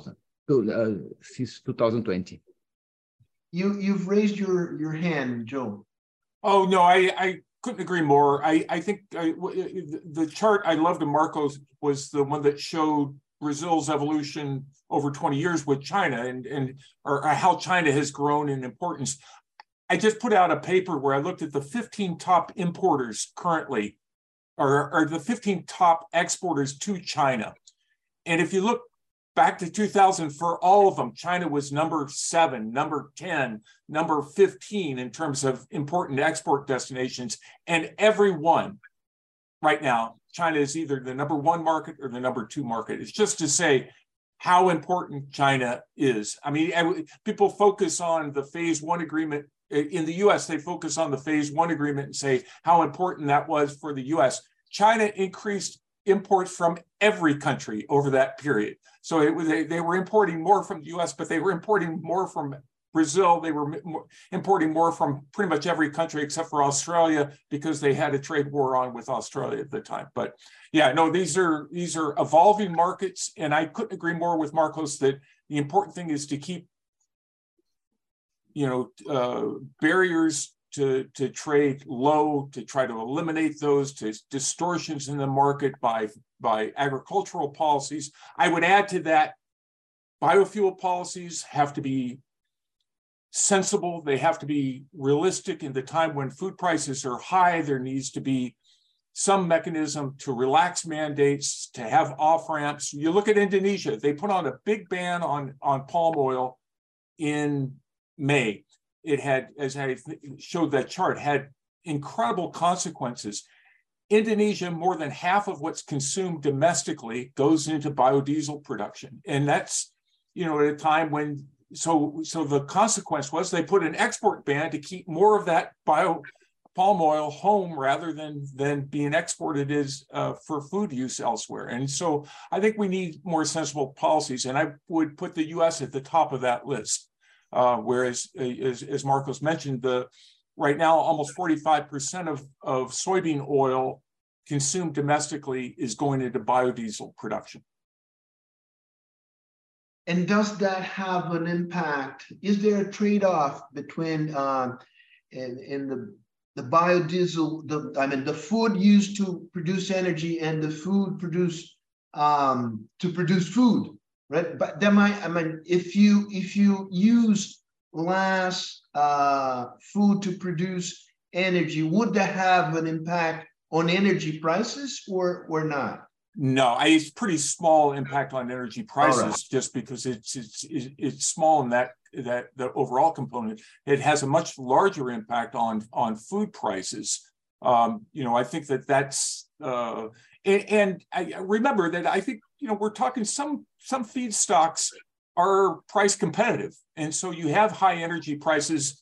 Speaker 4: 2020.
Speaker 2: You've raised your hand, Joe.
Speaker 3: Oh, no, I couldn't agree more. I think the chart I loved of Marcos was the one that showed Brazil's evolution over 20 years with China or how China has grown in importance. I just put out a paper where I looked at the 15 top importers currently, or the 15 top exporters to China. And if you look back to 2000, for all of them, China was number 7, number 10, number 15 in terms of important export destinations. And every one right now, China is either the number 1 market or the number 2 market. It's just to say how important China is. I mean, people focus on the phase 1 agreement. In the US, they focus on the phase 1 agreement and say how important that was for the US. China increased imports from every country over that period. So they were importing more from the US, but they were importing more from Brazil. They were importing more from pretty much every country except for Australia, because they had a trade war on with Australia at the time. But yeah, no, these are evolving markets. And I couldn't agree more with Marcos that the important thing is to keep barriers to trade low, to try to eliminate those distortions in the market by agricultural policies. I would add to that, biofuel policies have to be sensible. They have to be realistic. In the time when food prices are high, there needs to be some mechanism to relax mandates, to have off-ramps. You look at Indonesia, they put on a big ban on palm oil in May. It had, as I showed that chart, had incredible consequences. Indonesia, more than half of what's consumed domestically goes into biodiesel production. And that's, at a time when, so the consequence was they put an export ban to keep more of that palm oil home rather than being exported for food use elsewhere. And so I think we need more sensible policies. And I would put the US at the top of that list. Whereas, as Marcos mentioned, right now almost 45% of soybean oil consumed domestically is going into biodiesel production.
Speaker 2: And does that have an impact? Is there a trade-off between in the biodiesel, the food used to produce energy and the food produced to produce food? Right, but if you use less food to produce energy, would that have an impact on energy prices or not?
Speaker 3: No, it's pretty small impact on energy prices,
Speaker 2: right.
Speaker 3: Just because it's small in that the overall component. It has a much larger impact on food prices. I think that's and I remember that I think we're talking some feedstocks are price competitive, and so you have high energy prices.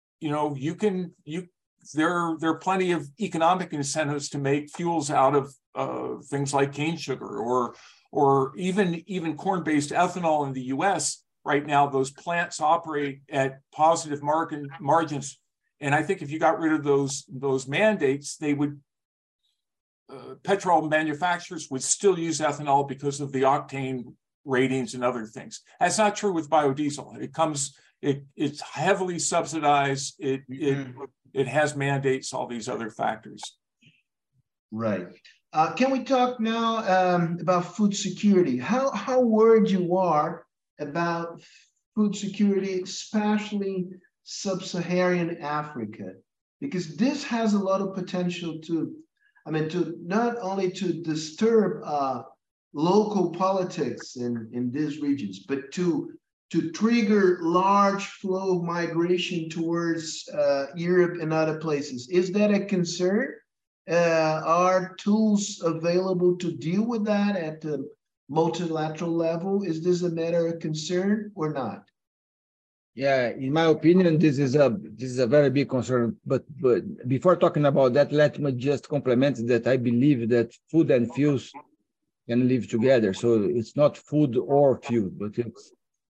Speaker 3: There are plenty of economic incentives to make fuels out of things like cane sugar or even corn-based ethanol in the U.S. Right now, those plants operate at positive margins, and I think if you got rid of those mandates, they would. Petrol manufacturers would still use ethanol because of the octane ratings and other things. That's not true with biodiesel. It's heavily subsidized. It has mandates, all these other factors.
Speaker 2: Right. Can we talk now about food security? How worried you are about food security, especially sub-Saharan Africa? Because this has a lot of potential to not only to disturb local politics in these regions, but to trigger large flow of migration towards Europe and other places. Is that a concern? Are tools available to deal with that at the multilateral level? Is this a matter of concern or not?
Speaker 4: Yeah, in my opinion, this is a very big concern. But before talking about that, let me just complement that I believe that food and fuels can live together. So it's not food or fuel, but it's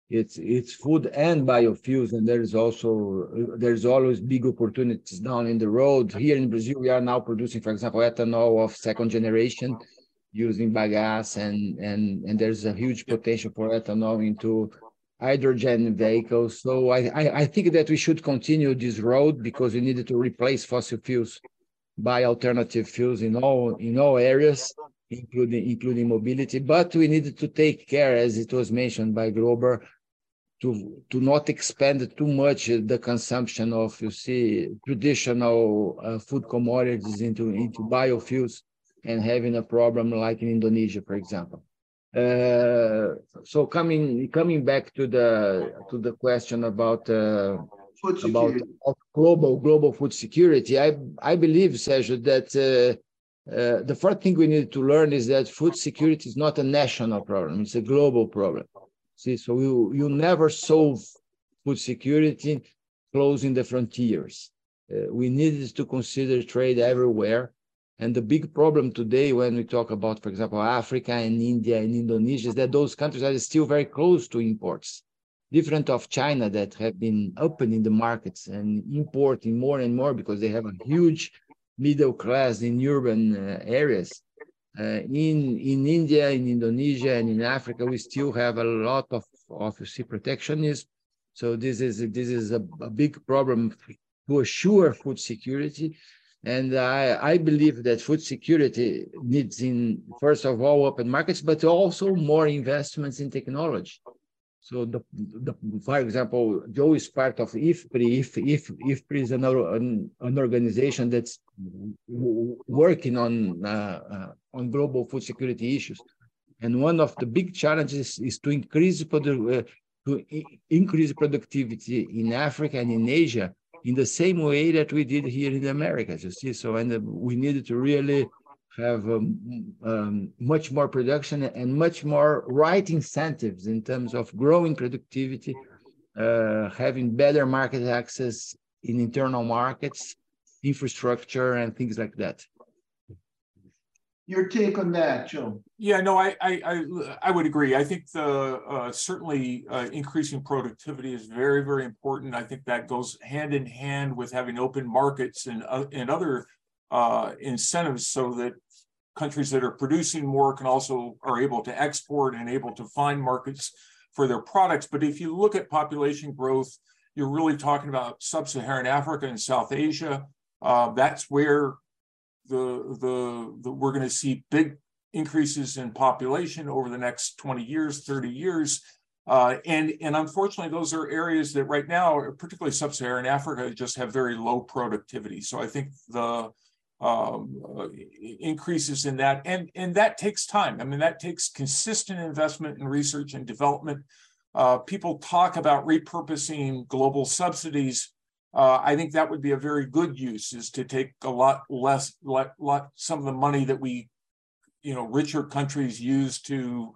Speaker 4: it's food and biofuels, and there's always big opportunities down in the road. Here in Brazil, we are now producing, for example, ethanol of second generation using bagasse, and there's a huge potential for ethanol into hydrogen vehicles. So I think that we should continue this road because we needed to replace fossil fuels by alternative fuels in all areas, including mobility. But we needed to take care, as it was mentioned by Glober, to not expand too much the consumption of, you see, traditional food commodities into biofuels and having a problem like in Indonesia, for example. So coming back to the question about
Speaker 2: food security.
Speaker 4: global food security, I believe, Sergio, that the first thing we need to learn is that food security is not a national problem; it's a global problem. See, so you never solve food security closing the frontiers. We needed to consider trade everywhere. And the big problem today when we talk about, for example, Africa and India and Indonesia is that those countries are still very close to imports, different of China that have been opening the markets and importing more and more because they have a huge middle class in urban areas. In India, in Indonesia, and in Africa, we still have a lot of you see, protectionism. So this is a big problem to assure food security. And I believe that food security needs, first of all, open markets, but also more investments in technology. So, for example, Joe is part of IFPRI. IFPRI is an organization that's working on global food security issues. And one of the big challenges is to increase productivity in Africa and in Asia in the same way that we did here in the Americas, you see. So, and we needed to really have much more production and much more right incentives in terms of growing productivity, having better market access in internal markets, infrastructure, and things like that.
Speaker 2: Your take on that, Joe?
Speaker 3: Yeah, no, I would agree. I think certainly increasing productivity is very, very important. I think that goes hand in hand with having open markets and other incentives so that countries that are producing more are able to export and able to find markets for their products. But if you look at population growth, you're really talking about sub-Saharan Africa and South Asia. That's where we're going to see big increases in population over the next 20 years, 30 years. And unfortunately, those are areas that right now, particularly sub-Saharan Africa, just have very low productivity. So I think the increases in that, and that takes time. I mean, that takes consistent investment in research and development. People talk about repurposing global subsidies. I think that would be a very good use, is to take a lot some of the money that richer countries use to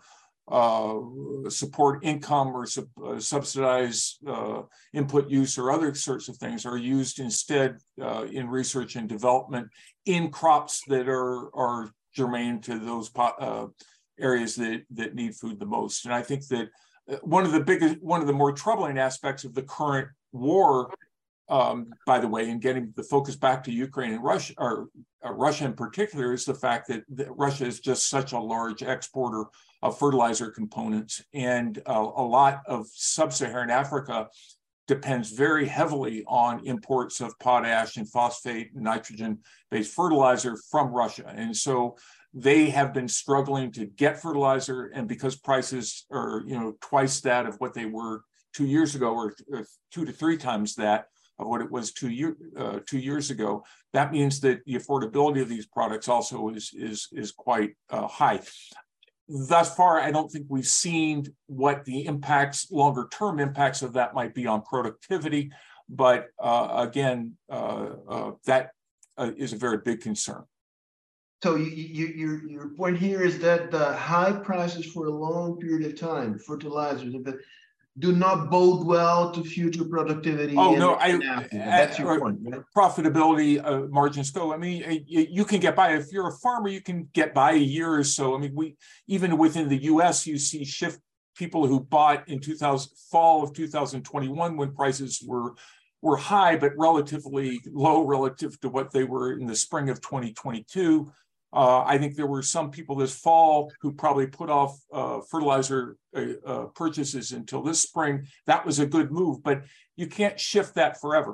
Speaker 3: support income or subsidize input use or other sorts of things, are used instead in research and development in crops that are germane to those areas that need food the most. And I think that one of the more troubling aspects of the current war, by the way, and getting the focus back to Ukraine and Russia, or Russia in particular, is the fact that Russia is just such a large exporter of fertilizer components. And a lot of sub-Saharan Africa depends very heavily on imports of potash and phosphate and nitrogen-based fertilizer from Russia. And so they have been struggling to get fertilizer, and because prices are twice that of what they were 2 years ago, or 2 to 3 times that of what it was 2 years ago, that means that the affordability of these products also is quite high. Thus far, I don't think we've seen what the longer term impacts of that might be on productivity, but again, that is a very big concern.
Speaker 2: So your point here is that the high prices for a long period of time, fertilizers, do not bode well to future productivity.
Speaker 3: Oh, no,
Speaker 2: that's your point, right?
Speaker 3: Profitability margins go. I mean, you can get by. If you're a farmer, you can get by a year or so. I mean, even within the U.S., you see people who bought in fall of 2021 when prices were high, but relatively low relative to what they were in the spring of 2022. I think there were some people this fall who probably put off fertilizer purchases until this spring. That was a good move, but you can't shift that forever.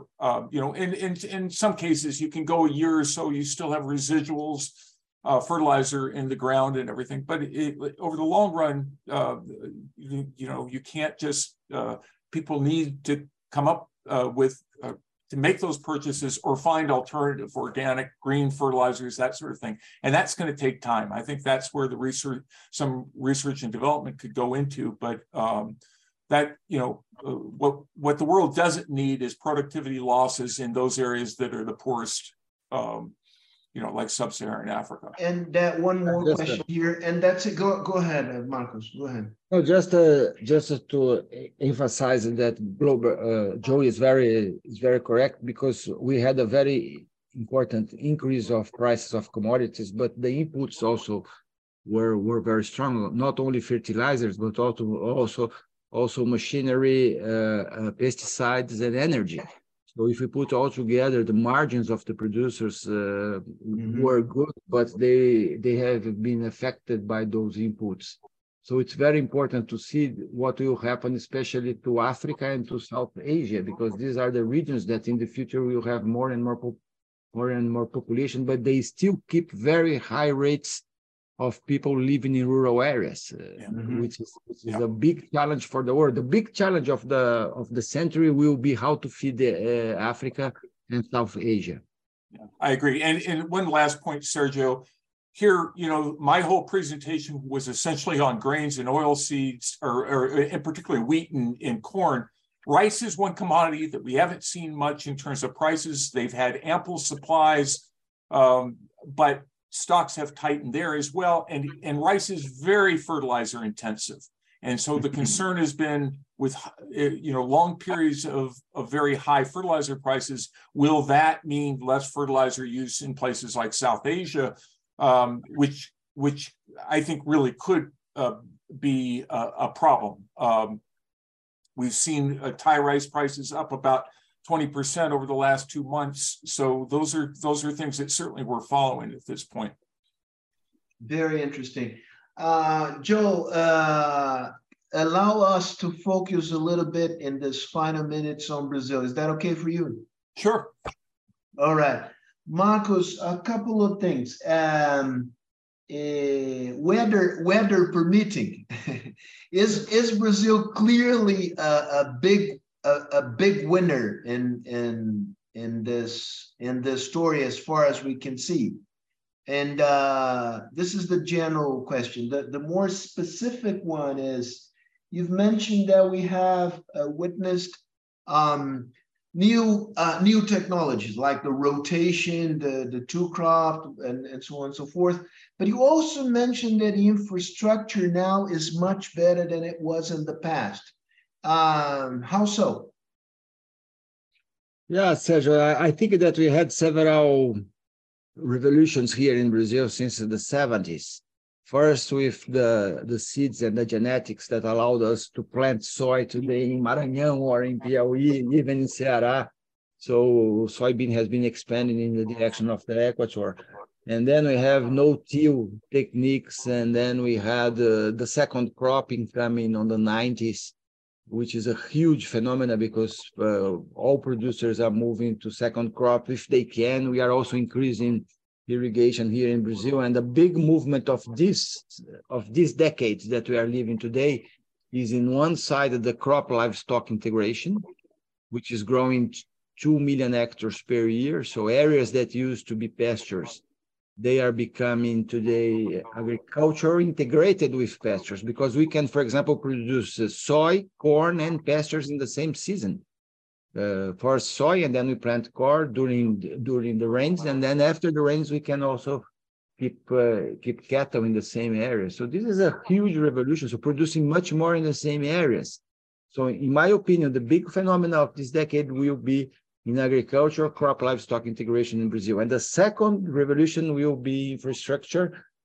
Speaker 3: In some cases, you can go a year or so, you still have residuals, fertilizer in the ground and everything. But over the long run, you can't just, people need to come up with to make those purchases or find alternative organic green fertilizers, that sort of thing. And that's going to take time. I think that's where the some research and development could go into, but what the world doesn't need is productivity losses in those areas that are the poorest, like sub-Saharan Africa.
Speaker 2: And that one more question here, and that's it. Go ahead, Marcos. Go ahead.
Speaker 4: No, just to emphasize that Joe is very correct, because we had a very important increase of prices of commodities, but the inputs also were very strong. Not only fertilizers, but also machinery, pesticides, and energy. So if we put all together, the margins of the producers were good, but they have been affected by those inputs. So it's very important to see what will happen, especially to Africa and to South Asia, because these are the regions that in the future will have more and more population, but they still keep very high rates of people living in rural areas, which is a big challenge for the world. The big challenge of the century will be how to feed Africa and South Asia.
Speaker 3: Yeah, I agree. And one last point, Sergio. Here, my whole presentation was essentially on grains and oilseeds, or in particular wheat and corn. Rice is one commodity that we haven't seen much in terms of prices. They've had ample supplies, but stocks have tightened there as well. And rice is very fertilizer intensive. And so the concern has been with, long periods of very high fertilizer prices, will that mean less fertilizer use in places like South Asia, which I think really could be a problem. We've seen Thai rice prices up about 20% over the last 2 months. So those are things that certainly we're following at this point.
Speaker 2: Very interesting. Joe, allow us to focus a little bit in this final minutes on Brazil. Is that okay for you?
Speaker 3: Sure.
Speaker 2: All right. Marcos, a couple of things. Weather permitting, is Brazil clearly a big winner in this story as far as we can see? And this is the general question. The more specific one is, you've mentioned that we have witnessed new technologies like the rotation, the two crop, and so on and so forth. But you also mentioned that the infrastructure now is much better than it was in the past. How so?
Speaker 4: Yeah, Sergio, I think that we had several revolutions here in Brazil since the 70s. First, with the seeds and the genetics that allowed us to plant soy today in Maranhão or in Piauí, even in Ceará. So soybean has been expanding in the direction of the equator. And then we have no-till techniques, and then we had the second cropping coming on the 90s, which is a huge phenomenon because all producers are moving to second crop if they can. We are also increasing irrigation here in Brazil, and the big movement of this decade that we are living today is in one side of the crop livestock integration, which is growing 2 million hectares per year. So areas that used to be pastures, they are becoming today agriculture integrated with pastures, because we can, for example, produce soy, corn, and pastures in the same season. For soy, and then we plant corn during the rains, and then after the rains we can also keep cattle in the same area. So this is a huge revolution. So producing much more in the same areas. So in my opinion, the big phenomenon of this decade will be in agriculture, crop livestock integration in Brazil. And the second revolution will be infrastructure,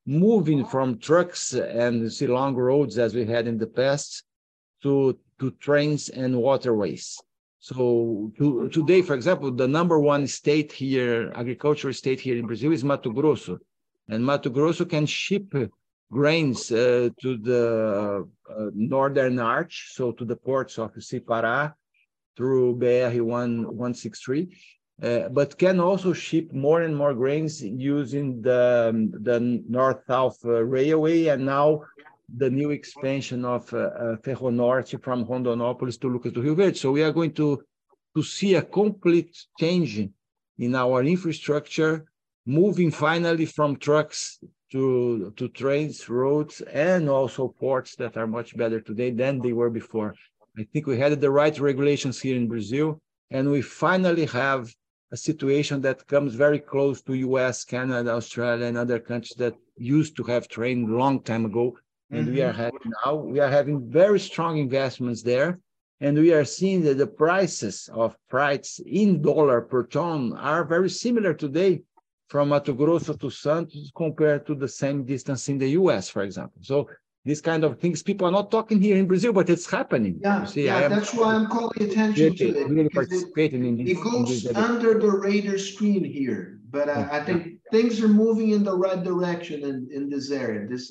Speaker 4: moving from trucks and see long roads as we had in the past to trains and waterways. So today, for example, the number one state here, agricultural state here in Brazil is Mato Grosso. And Mato Grosso can ship grains to the Northern Arch, so to the ports of Cipará through BR-163, but can also ship more and more grains using the North-South Railway, and now the new expansion of Ferronorte from Rondonópolis to Lucas do Rio Verde. So we are going to see a complete change in our infrastructure, moving finally from trucks to trains, roads, and also ports that are much better today than they were before. I think we had the right regulations here in Brazil, and we finally have a situation that comes very close to US, Canada, Australia, and other countries that used to have train a long time ago. And we are having very strong investments there. And we are seeing that the prices of freights in dollar per ton are very similar today from Mato Grosso to Santos compared to the same distance in the US, for example. So these kind of things, people are not talking here in Brazil, but it's happening.
Speaker 2: Yeah,
Speaker 4: see,
Speaker 2: that's why I'm calling attention to it.
Speaker 4: Really participating in this.
Speaker 2: It goes under the radar screen here, but I think things are moving in the right direction in this area. This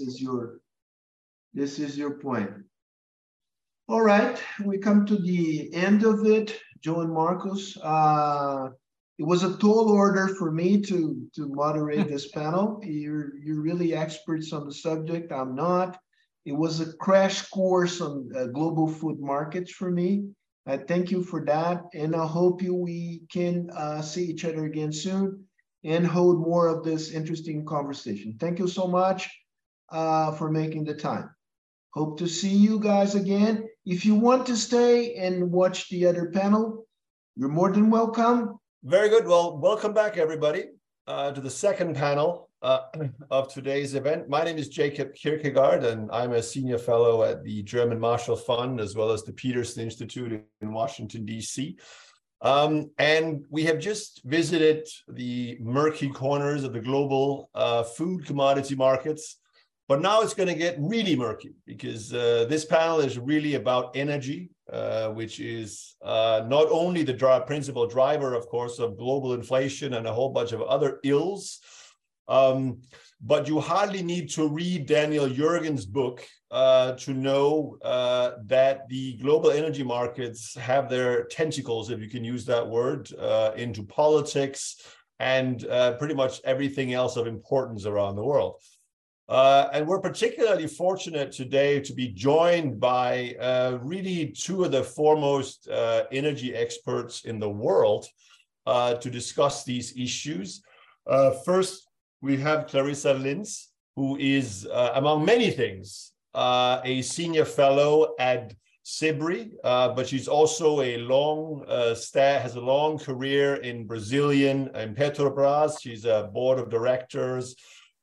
Speaker 2: is your point. All right, we come to the end of it, Joe and Marcos. It was a tall order for me to moderate this panel. You're really experts on the subject. I'm not. It was a crash course on global food markets for me. I thank you for that, and I hope we can see each other again soon and hold more of this interesting conversation. Thank you so much for making the time. Hope to see you guys again. If you want to stay and watch the other panel, you're more than welcome.
Speaker 5: Very good. Well, welcome back, everybody, to the second panel of today's event. My name is Jacob Kierkegaard, and I'm a senior fellow at the German Marshall Fund, as well as the Peterson Institute in Washington, D.C. And we have just visited the murky corners of the global food commodity markets. But now it's going to get really murky, because this panel is really about energy, which is not only the principal driver, of course, of global inflation and a whole bunch of other ills, but you hardly need to read Daniel Yergin's book to know that the global energy markets have their tentacles, if you can use that word, into politics and pretty much everything else of importance around the world. And we're particularly fortunate today to be joined by really two of the foremost energy experts in the world to discuss these issues. First, we have Clarissa Linz, who is, among many things, a senior fellow at SIBRI, but she's also has a long career in Petrobras. She's a board of directors,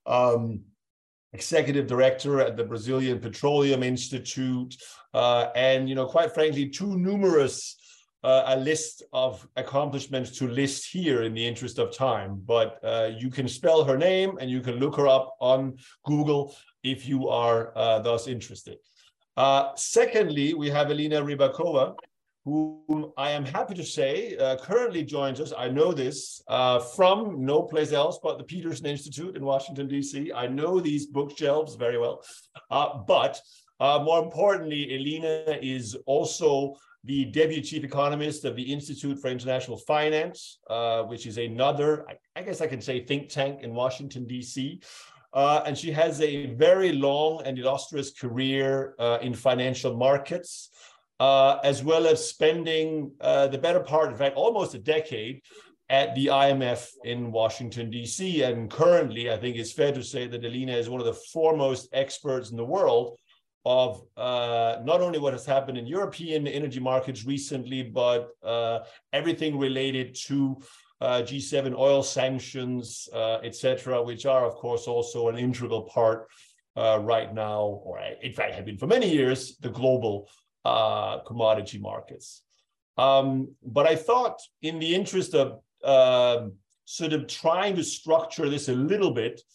Speaker 5: executive director at the Brazilian Petroleum Institute, and, quite frankly, too numerous a list of accomplishments to list here in the interest of time. But you can spell her name and you can look her up on Google if you are thus interested. Secondly, we have Elena Rybakova, whom I am happy to say currently joins us. I know this from no place else but the Peterson Institute in Washington, D.C. I know these bookshelves very well. But more importantly, Elena is also the deputy chief economist of the Institute for International Finance, which is another, I guess I can say, think tank in Washington, D.C. And she has a very long and illustrious career in financial markets, as well as spending the better part, in fact, almost a decade at the IMF in Washington, D.C. And currently, I think it's fair to say that Elena is one of the foremost experts in the world of not only what has happened in European energy markets recently, but everything related to G7 oil sanctions, etc., which are, of course, also an integral part right now, or in fact have been for many years, the global commodity markets. But I thought, in the interest of sort of trying to structure this a little bit,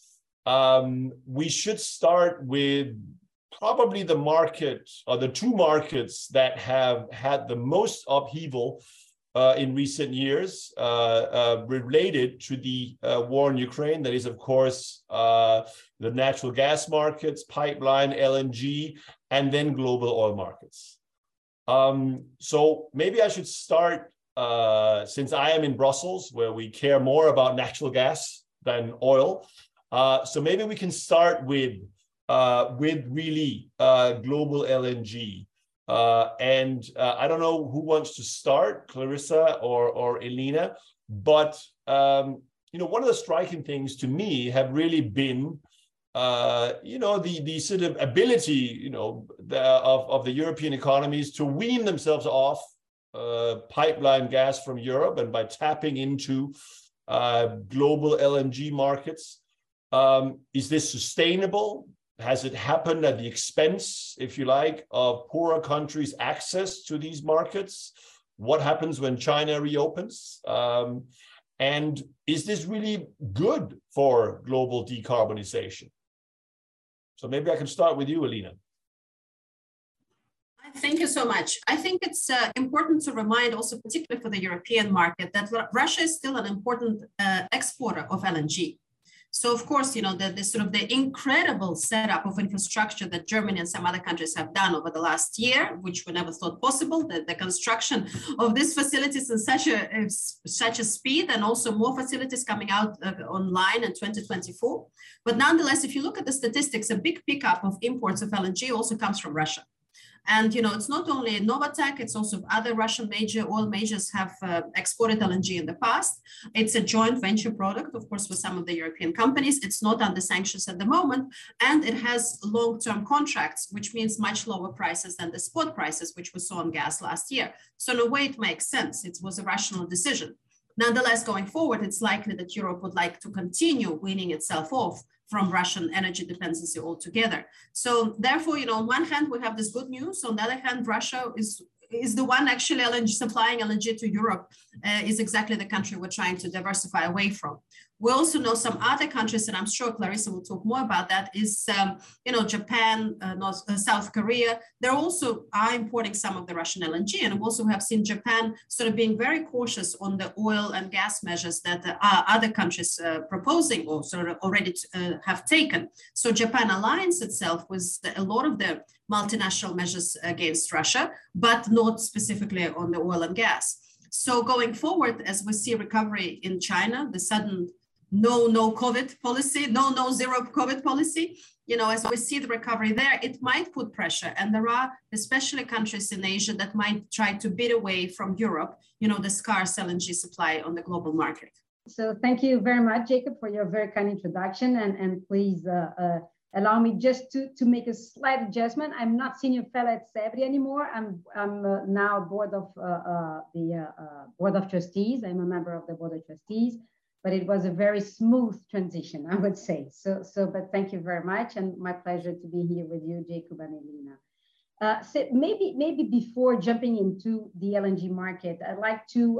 Speaker 5: we should start with probably the market, or the two markets that have had the most upheaval in recent years related to the war in Ukraine. That is, of course, the natural gas markets, pipeline, LNG, and then global oil markets. So maybe I should start, since I am in Brussels, where we care more about natural gas than oil. So maybe we can start with really global LNG. I don't know who wants to start, Clarissa or Elena, but one of the striking things to me have really been the sort of ability of the European economies to wean themselves off pipeline gas from Europe, and by tapping into global LNG markets. Is this sustainable? Has it happened at the expense, if you like, of poorer countries' access to these markets? What happens when China reopens? And is this really good for global decarbonization? So maybe I can start with you, Elena.
Speaker 6: Thank you so much. I think it's important to remind also, particularly for the European market, that Russia is still an important exporter of LNG. So of course, the incredible setup of infrastructure that Germany and some other countries have done over the last year, which we never thought possible, the construction of these facilities in such a speed, and also more facilities coming out online in 2024. But nonetheless, if you look at the statistics, a big pickup of imports of LNG also comes from Russia. And, it's not only Novatek, it's also other Russian oil majors have exported LNG in the past. It's a joint venture product, of course, with some of the European companies. It's not under sanctions at the moment, and it has long-term contracts, which means much lower prices than the spot prices, which we saw on gas last year. So in a way, it makes sense. It was a rational decision. Nonetheless, going forward, it's likely that Europe would like to continue weaning itself off from Russian energy dependency altogether. So therefore, on one hand, we have this good news. On the other hand, Russia is the one actually supplying LNG to Europe, is exactly the country we're trying to diversify away from. We also know some other countries, and I'm sure Clarissa will talk more about that, is, Japan, South Korea. They also are importing some of the Russian LNG. And we also have seen Japan sort of being very cautious on the oil and gas measures that other countries proposing or sort of already have taken. So Japan aligns itself with a lot of the multinational measures against Russia, but not specifically on the oil and gas. So going forward, as we see recovery in China, the sudden no COVID policy, no zero COVID policy, as we see the recovery there, it might put pressure. And there are especially countries in Asia that might try to bid away from Europe, the scarce LNG supply on the global market.
Speaker 7: So thank you very much, Jacob, for your very kind introduction. And please allow me just to make a slight adjustment. I'm not senior fellow at SEBRI anymore. I'm now board of board of trustees. I'm a member of the board of trustees. But it was a very smooth transition, I would say. But thank you very much, and my pleasure to be here with you, Jacob and Elena. So maybe before jumping into the LNG market, I'd like to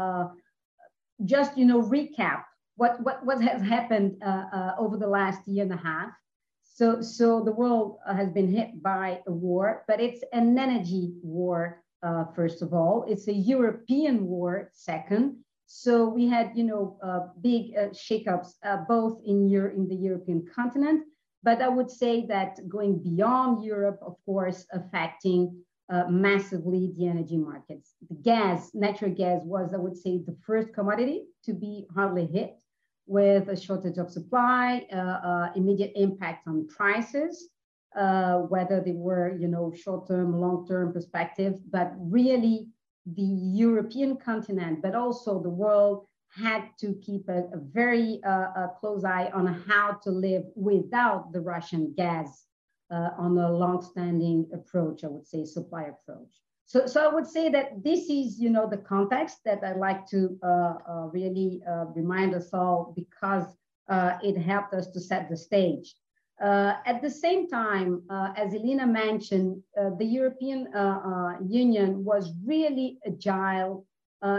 Speaker 7: just recap what has happened over the last year and a half. So the world has been hit by a war, but it's an energy war. First of all, it's a European war. Second. So we had, big shakeups both in the European continent, but I would say that going beyond Europe, of course, affecting massively the energy markets. The natural gas was, I would say, the first commodity to be hardly hit with a shortage of supply, immediate impact on prices, whether they were, short-term, long-term perspective, but really, the European continent, but also the world, had to keep a very close eye on how to live without the Russian gas on a long-standing approach, I would say, supply approach. So I would say that this is, the context that I'd like to really remind us all, because it helped us to set the stage. At the same time, as Elena mentioned, the European Union was really agile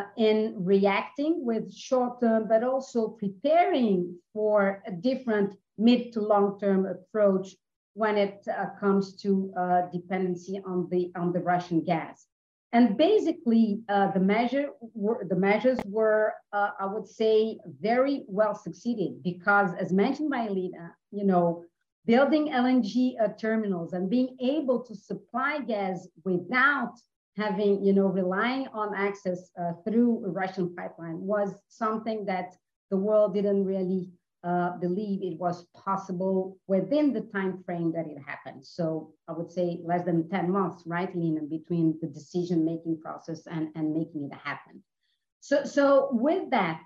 Speaker 7: in reacting with short-term, but also preparing for different mid to long-term approach when it comes to dependency on the Russian gas. And basically, the measures were, I would say, very well succeeded because, as mentioned by Elena, building LNG terminals and being able to supply gas without having, relying on access through a Russian pipeline was something that the world didn't really believe it was possible within the time frame that it happened. So I would say less than 10 months, right, Lena, between the decision-making process and making it happen. So with that,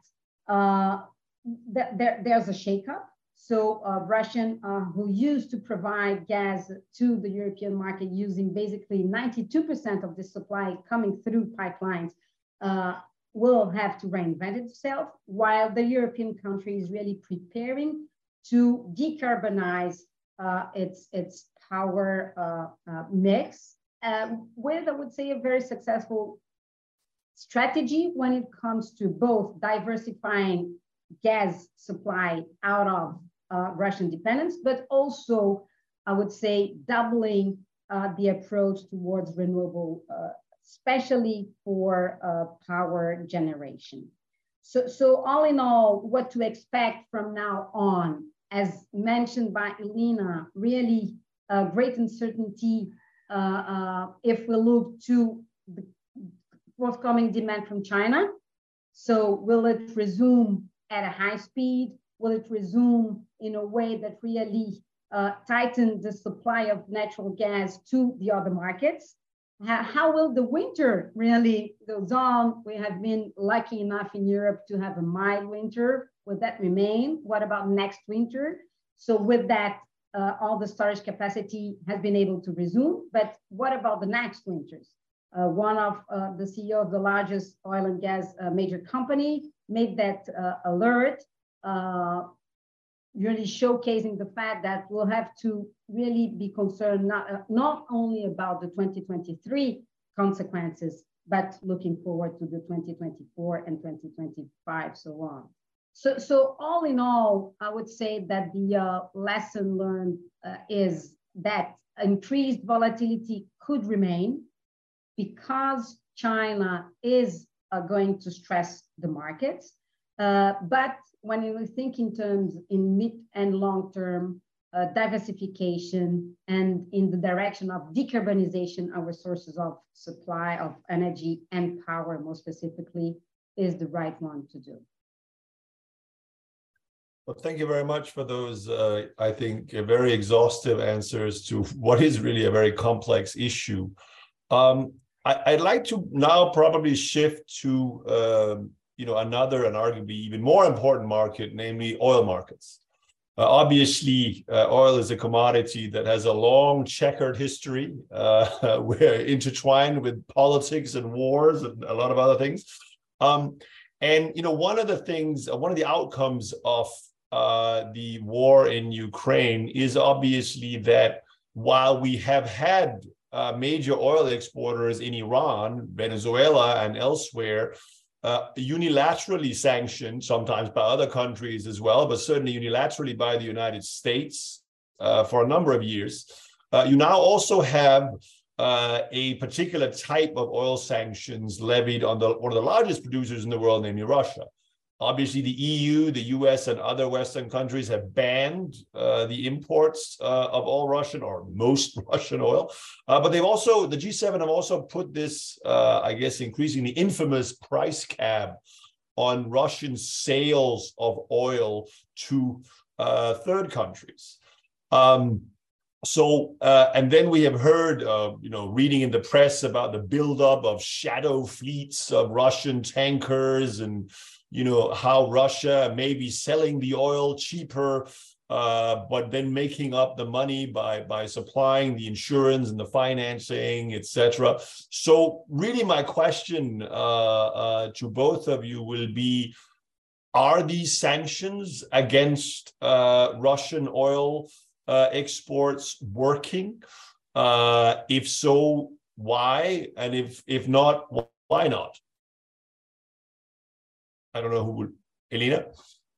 Speaker 7: there's a shakeup. So Russian, who used to provide gas to the European market using basically 92% of the supply coming through pipelines, will have to reinvent itself, while the European country is really preparing to decarbonize its power mix with, I would say, a very successful strategy when it comes to both diversifying gas supply out of Russian dependence, but also, I would say, doubling the approach towards renewable especially for power generation. So all in all, what to expect from now on, as mentioned by Elena, really great uncertainty if we look to the forthcoming demand from China. So will it resume at a high speed? Will it resume in a way that really tighten the supply of natural gas to the other markets? How will the winter really goes on? We have been lucky enough in Europe to have a mild winter. Will that remain? What about next winter? So with that, all the storage capacity has been able to resume, but what about the next winters? One of the CEO of the largest oil and gas major company made that alert, really showcasing the fact that we'll have to really be concerned not only about the 2023 consequences, but looking forward to the 2024 and 2025, so on. So all in all, I would say that the lesson learned is that increased volatility could remain because China is going to stress the markets. But when you think in terms in mid and long term diversification and in the direction of decarbonization, our sources of supply of energy and power, more specifically, is the right one to do.
Speaker 5: Well, thank you very much for those, I think, very exhaustive answers to what is really a very complex issue. I'd like to now probably shift to another and arguably even more important market, namely oil markets. Obviously, oil is a commodity that has a long checkered history. We're intertwined with politics and wars and a lot of other things. And one of the outcomes of the war in Ukraine is obviously that while we have had major oil exporters in Iran, Venezuela, and elsewhere, unilaterally sanctioned, sometimes by other countries as well, but certainly unilaterally by the United States for a number of years. You now also have a particular type of oil sanctions levied on one of the largest producers in the world, namely Russia. Obviously, the EU, the US, and other Western countries have banned the imports of all Russian or most Russian oil. But they've also, the G7 have also put this, I guess, increasingly infamous price cap on Russian sales of oil to third countries. And then we have heard, reading in the press about the buildup of shadow fleets of Russian tankers and how Russia may be selling the oil cheaper, but then making up the money by supplying the insurance and the financing, etc. So really my question to both of you will be, are these sanctions against Russian oil exports working? If so, why? And if not, why not? I don't know who would. Elena?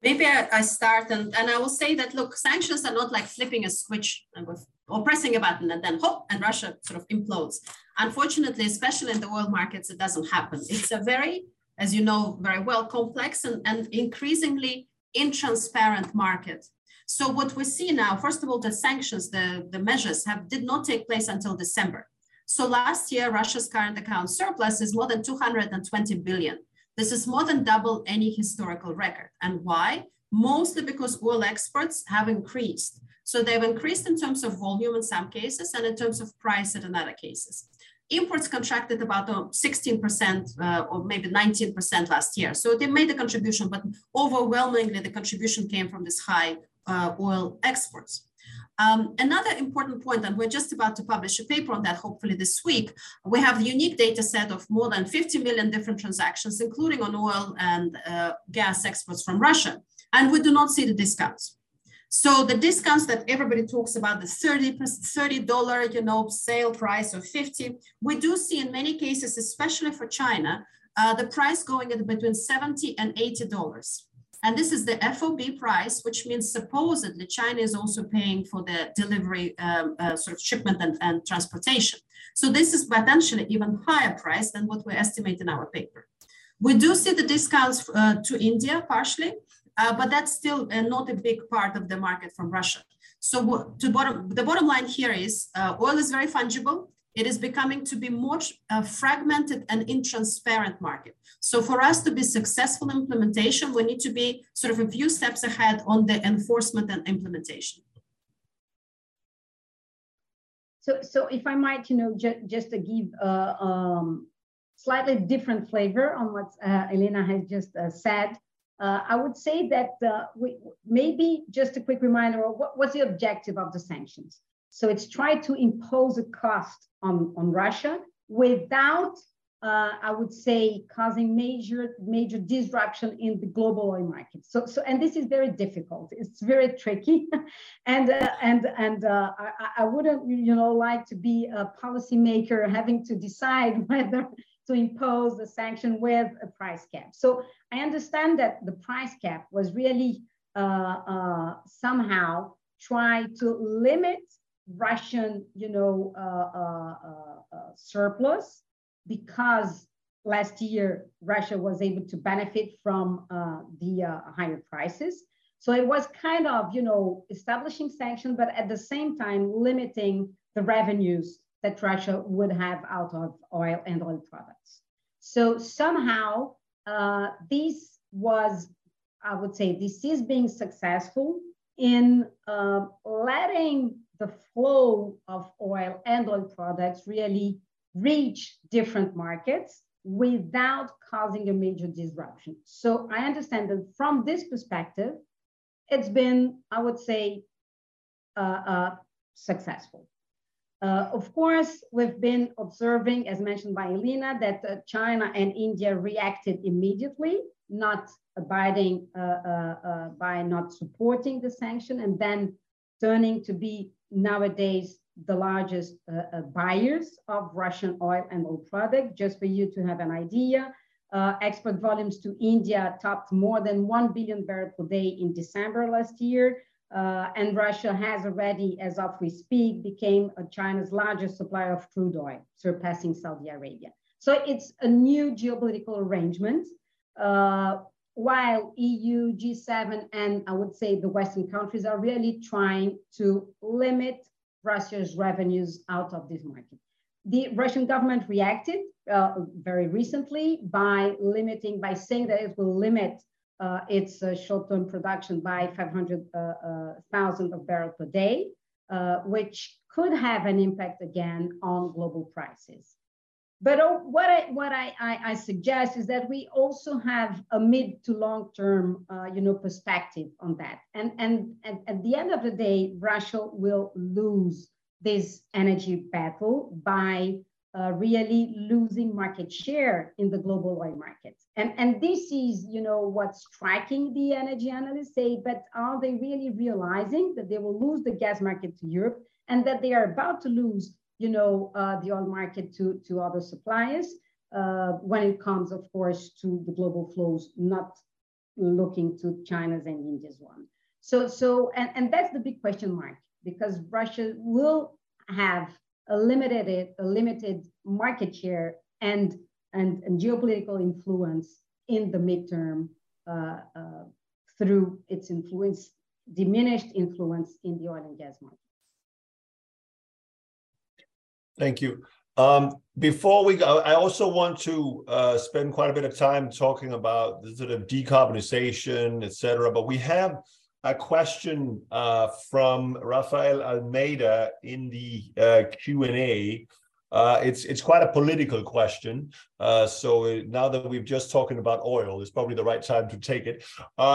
Speaker 6: Maybe I start, and I will say that, look, sanctions are not like flipping a switch or pressing a button and then hop, and Russia sort of implodes. Unfortunately, especially in the oil markets, it doesn't happen. It's a very, as you know very well, complex and increasingly intransparent market. So what we see now, first of all, the sanctions, the measures did not take place until December. So last year, Russia's current account surplus is more than 220 billion. This is more than double any historical record. And why? Mostly because oil exports have increased. So they've increased in terms of volume in some cases and in terms of price in other cases. Imports contracted about 16% or maybe 19% last year. So they made a contribution, but overwhelmingly the contribution came from this high oil exports. Another important point, and we're just about to publish a paper on that, hopefully this week, we have a unique data set of more than 50 million different transactions, including on oil and gas exports from Russia. And we do not see the discounts. So the discounts that everybody talks about, the $30, sale price of 50, we do see in many cases, especially for China, the price going at between $70 and $80. And this is the FOB price, which means supposedly China is also paying for the delivery sort of shipment and transportation. So this is potentially even higher price than what we estimate in our paper. We do see the discounts to India partially, but that's still not a big part of the market from Russia. So the bottom line here is oil is very fungible. It is becoming to be more fragmented and intransparent market. So for us to be successful in implementation, we need to be sort of a few steps ahead on the enforcement and implementation.
Speaker 7: So if I might, just to give slightly different flavor on what Elena has just said, I would say that maybe just a quick reminder of what's the objective of the sanctions. So it's try to impose a cost on Russia without, I would say, causing major disruption in the global oil market. And this is very difficult. It's very tricky, and I wouldn't, like to be a policymaker having to decide whether to impose the sanction with a price cap. So I understand that the price cap was really somehow try to limit Russian, surplus, because last year Russia was able to benefit from the higher prices. So it was kind of, establishing sanctions, but at the same time limiting the revenues that Russia would have out of oil and oil products. So somehow this was, I would say, this is being successful in letting the flow of oil and oil products really reach different markets without causing a major disruption. So I understand that from this perspective, it's been, I would say, successful. Of course, we've been observing, as mentioned by Elena, that China and India reacted immediately, not abiding by not supporting the sanction, and then turning to be nowadays the largest buyers of Russian oil and oil products. Just for you to have an idea, export volumes to India topped more than 1 billion barrels per day in December last year. And Russia has already, as of we speak, became China's largest supplier of crude oil, surpassing Saudi Arabia. So it's a new geopolitical arrangement, while EU, G7, and I would say the Western countries are really trying to limit Russia's revenues out of this market. The Russian government reacted very recently by saying that it will limit its short-term production by 500,000 of barrels per day, which could have an impact again on global prices. But what I suggest is that we also have a mid to long-term, perspective on that. And at the end of the day, Russia will lose this energy battle by really losing market share in the global oil market. And this is, what's striking the energy analysts say, but are they really realizing that they will lose the gas market to Europe and that they are about to lose, the oil market to other suppliers when it comes, of course, to the global flows, not looking to China's and India's one. And that's the big question mark, because Russia will have a limited market share and geopolitical influence in the midterm through its diminished influence in the oil and gas market.
Speaker 5: Thank you. Before we go, I also want to spend quite a bit of time talking about the sort of decarbonization, et cetera, but we have a question from Rafael Almeida in the Q&A. It's quite a political question. So now that we've just talking about oil, it's probably the right time to take it.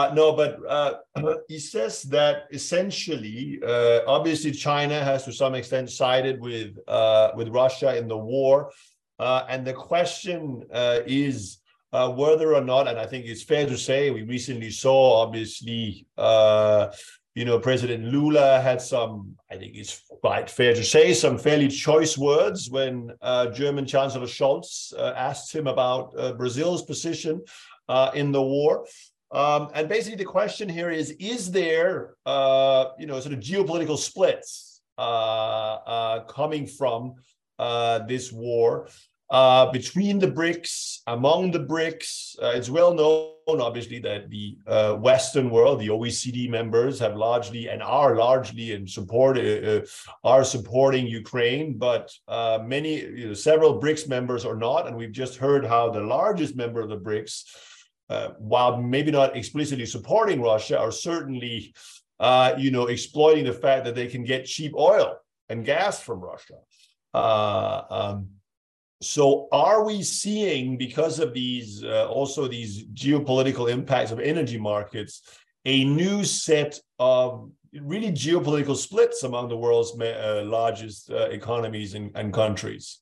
Speaker 5: He says that essentially, obviously China has to some extent sided with Russia in the war. And the question is whether or not, and I think it's fair to say, we recently saw, obviously, President Lula had some, I think it's quite fair to say, some fairly choice words when German Chancellor Scholz asked him about Brazil's position in the war. And basically the question here is there, sort of geopolitical splits coming from this war between the BRICS, among the BRICS? It's well known, obviously, that the Western world, the OECD members, have largely and are largely in support, are supporting Ukraine, but several BRICS members are not. And we've just heard how the largest member of the BRICS, while maybe not explicitly supporting Russia, are certainly, exploiting the fact that they can get cheap oil and gas from Russia. So are we seeing, because of these also these geopolitical impacts of energy markets, a new set of really geopolitical splits among the world's largest economies and countries?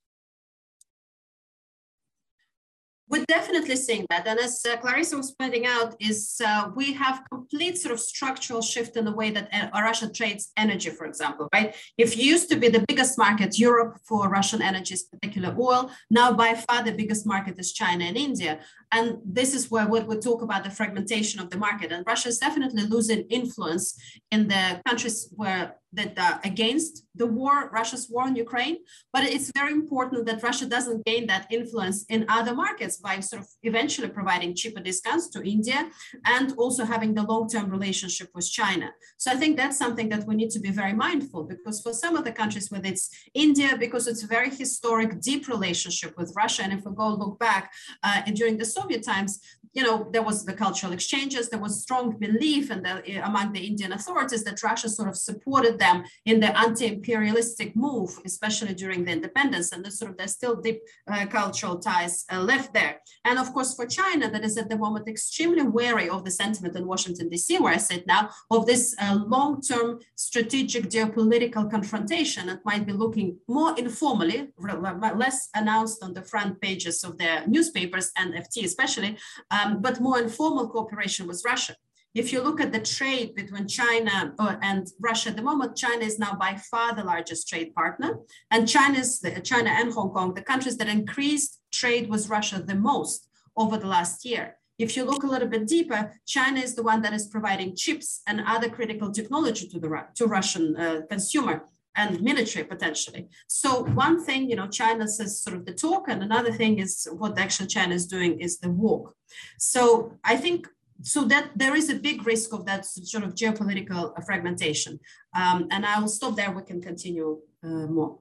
Speaker 6: We're definitely seeing that. And as Clarissa was pointing out, we have complete sort of structural shift in the way that Russia trades energy, for example, right? If you used to be the biggest market, Europe, for Russian energy, particular oil, now by far the biggest market is China and India. And this is where we talk about the fragmentation of the market. And Russia is definitely losing influence in the countries that are against the war, Russia's war in Ukraine. But it's very important that Russia doesn't gain that influence in other markets by sort of eventually providing cheaper discounts to India and also having the long-term relationship with China. So I think that's something that we need to be very mindful, because for some of the countries, whether it's India, because it's a very historic, deep relationship with Russia. And if we go look back during the Soviet times, there was the cultural exchanges, there was strong belief among the Indian authorities that Russia sort of supported them in the anti-imperialistic move, especially during the independence, and there's still deep cultural ties left there. And of course, for China, that is at the moment extremely wary of the sentiment in Washington, D.C., where I sit now, of this long-term strategic geopolitical confrontation that might be looking more informally, less announced on the front pages of their newspapers and FT especially, but more informal cooperation with Russia. If you look at the trade between China and Russia at the moment, China is now by far the largest trade partner. And China and Hong Kong, the countries that increased trade with Russia the most over the last year. If you look a little bit deeper, China is the one that is providing chips and other critical technology to Russian consumer and military potentially. So one thing, China says sort of the talk, and another thing is what actually China is doing is the walk. So I think that there is a big risk of that sort of geopolitical fragmentation. And I will stop there. We can continue more.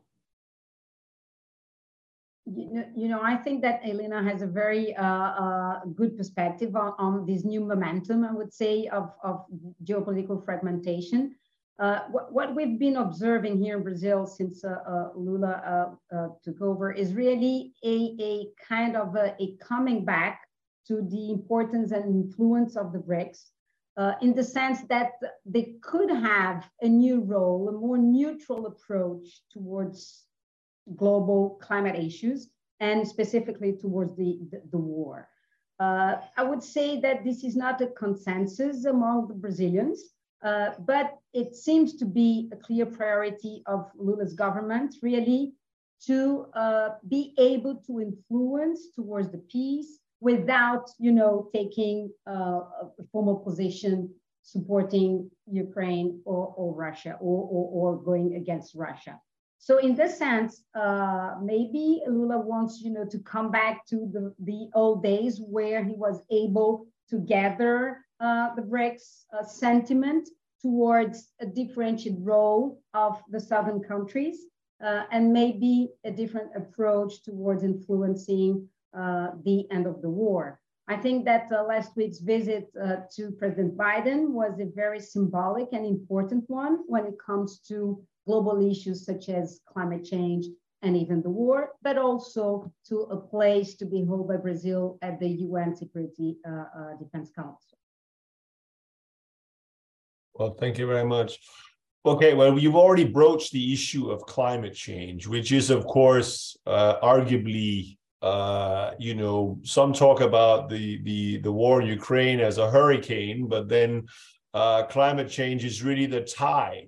Speaker 7: I think that Elena has a very good perspective on this new momentum, I would say, of geopolitical fragmentation. What we've been observing here in Brazil since Lula took over is really a kind of a coming back to the importance and influence of the BRICS, in the sense that they could have a new role, a more neutral approach towards global climate issues, and specifically towards the war. I would say that this is not a consensus among the Brazilians, but it seems to be a clear priority of Lula's government, really, to be able to influence towards the peace, without, taking a formal position supporting Ukraine or Russia or going against Russia. So in this sense, maybe Lula wants, to come back to the old days where he was able to gather the BRICS sentiment towards a differentiated role of the southern countries and maybe a different approach towards influencing the end of the war. I think that last week's visit to President Biden was a very symbolic and important one when it comes to global issues such as climate change and even the war, but also to a place to be held by Brazil at the UN Security Defense Council.
Speaker 5: Well, thank you very much. Okay, well, you've already broached the issue of climate change, which is, of course, arguably, some talk about the war in Ukraine as a hurricane, but then climate change is really the tide.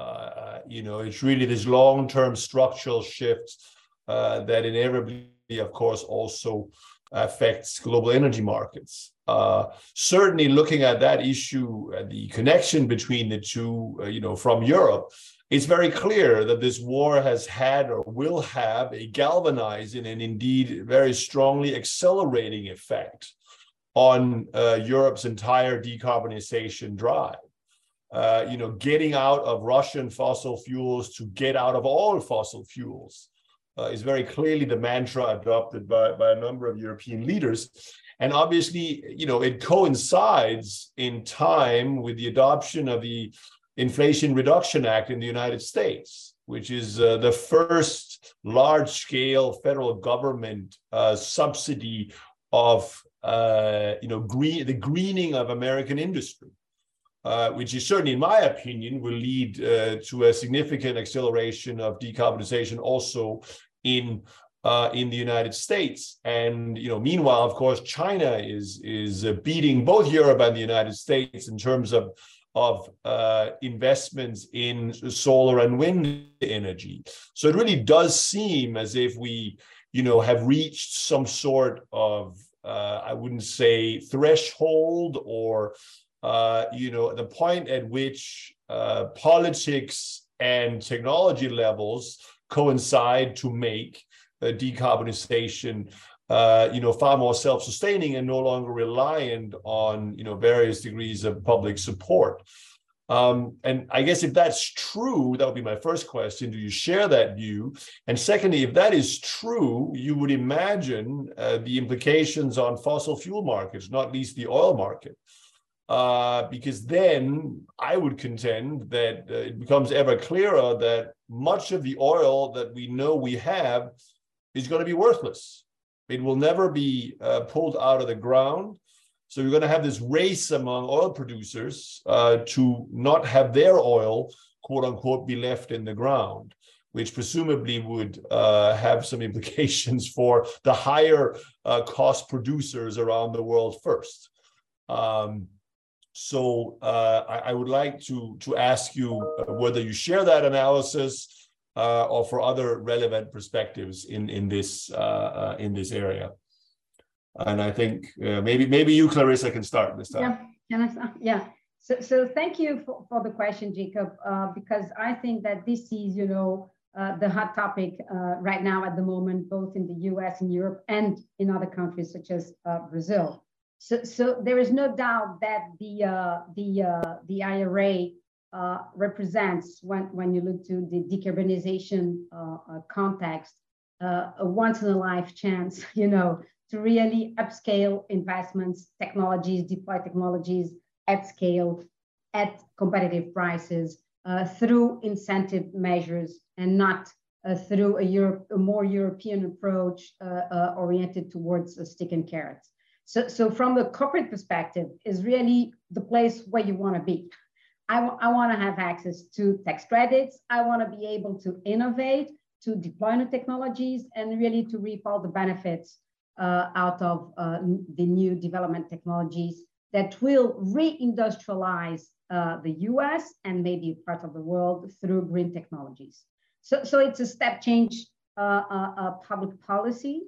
Speaker 5: It's really this long-term structural shift that inevitably, of course, also affects global energy markets. Certainly looking at that issue, the connection between the two, from Europe, it's very clear that this war has had or will have a galvanizing and indeed very strongly accelerating effect on Europe's entire decarbonization drive. Getting out of Russian fossil fuels to get out of all fossil fuels is very clearly the mantra adopted by a number of European leaders. And obviously, it coincides in time with the adoption of the Inflation Reduction Act in the United States, which is the first large-scale federal government subsidy of the greening of American industry. Which is certainly, in my opinion, will lead to a significant acceleration of decarbonization also in the United States. And meanwhile, of course, China is beating both Europe and the United States in terms of investments in solar and wind energy. So it really does seem as if we, have reached some sort of I wouldn't say threshold or the point at which politics and technology levels coincide to make decarbonization, far more self-sustaining and no longer reliant on, various degrees of public support. And I guess if that's true, that would be my first question. Do you share that view? And secondly, if that is true, you would imagine the implications on fossil fuel markets, not least the oil market. Because then I would contend that it becomes ever clearer that much of the oil that we know we have is going to be worthless. It will never be pulled out of the ground. So you're going to have this race among oil producers to not have their oil, quote unquote, be left in the ground, which presumably would have some implications for the higher cost producers around the world first. So I would like to ask you whether you share that analysis or for other relevant perspectives in this area. And I think maybe you, Clarissa, can start this time.
Speaker 7: Yeah, can I start? Yeah. So thank you for the question, Jacob, because I think that this is, the hot topic right now at the moment, both in the US and Europe and in other countries such as Brazil. So there is no doubt that the IRA represents, when you look to the decarbonization context, a once-in-a-life chance, to really upscale investments, technologies, deploy technologies at scale, at competitive prices, through incentive measures, and not through a more European approach oriented towards stick and carrots. So from the corporate perspective is really the place where you want to be. I want to have access to tax credits. I want to be able to innovate, to deploy new technologies, and really to reap all the benefits out of the new development technologies that will reindustrialize the US and maybe part of the world through green technologies. So it's a step change public policy.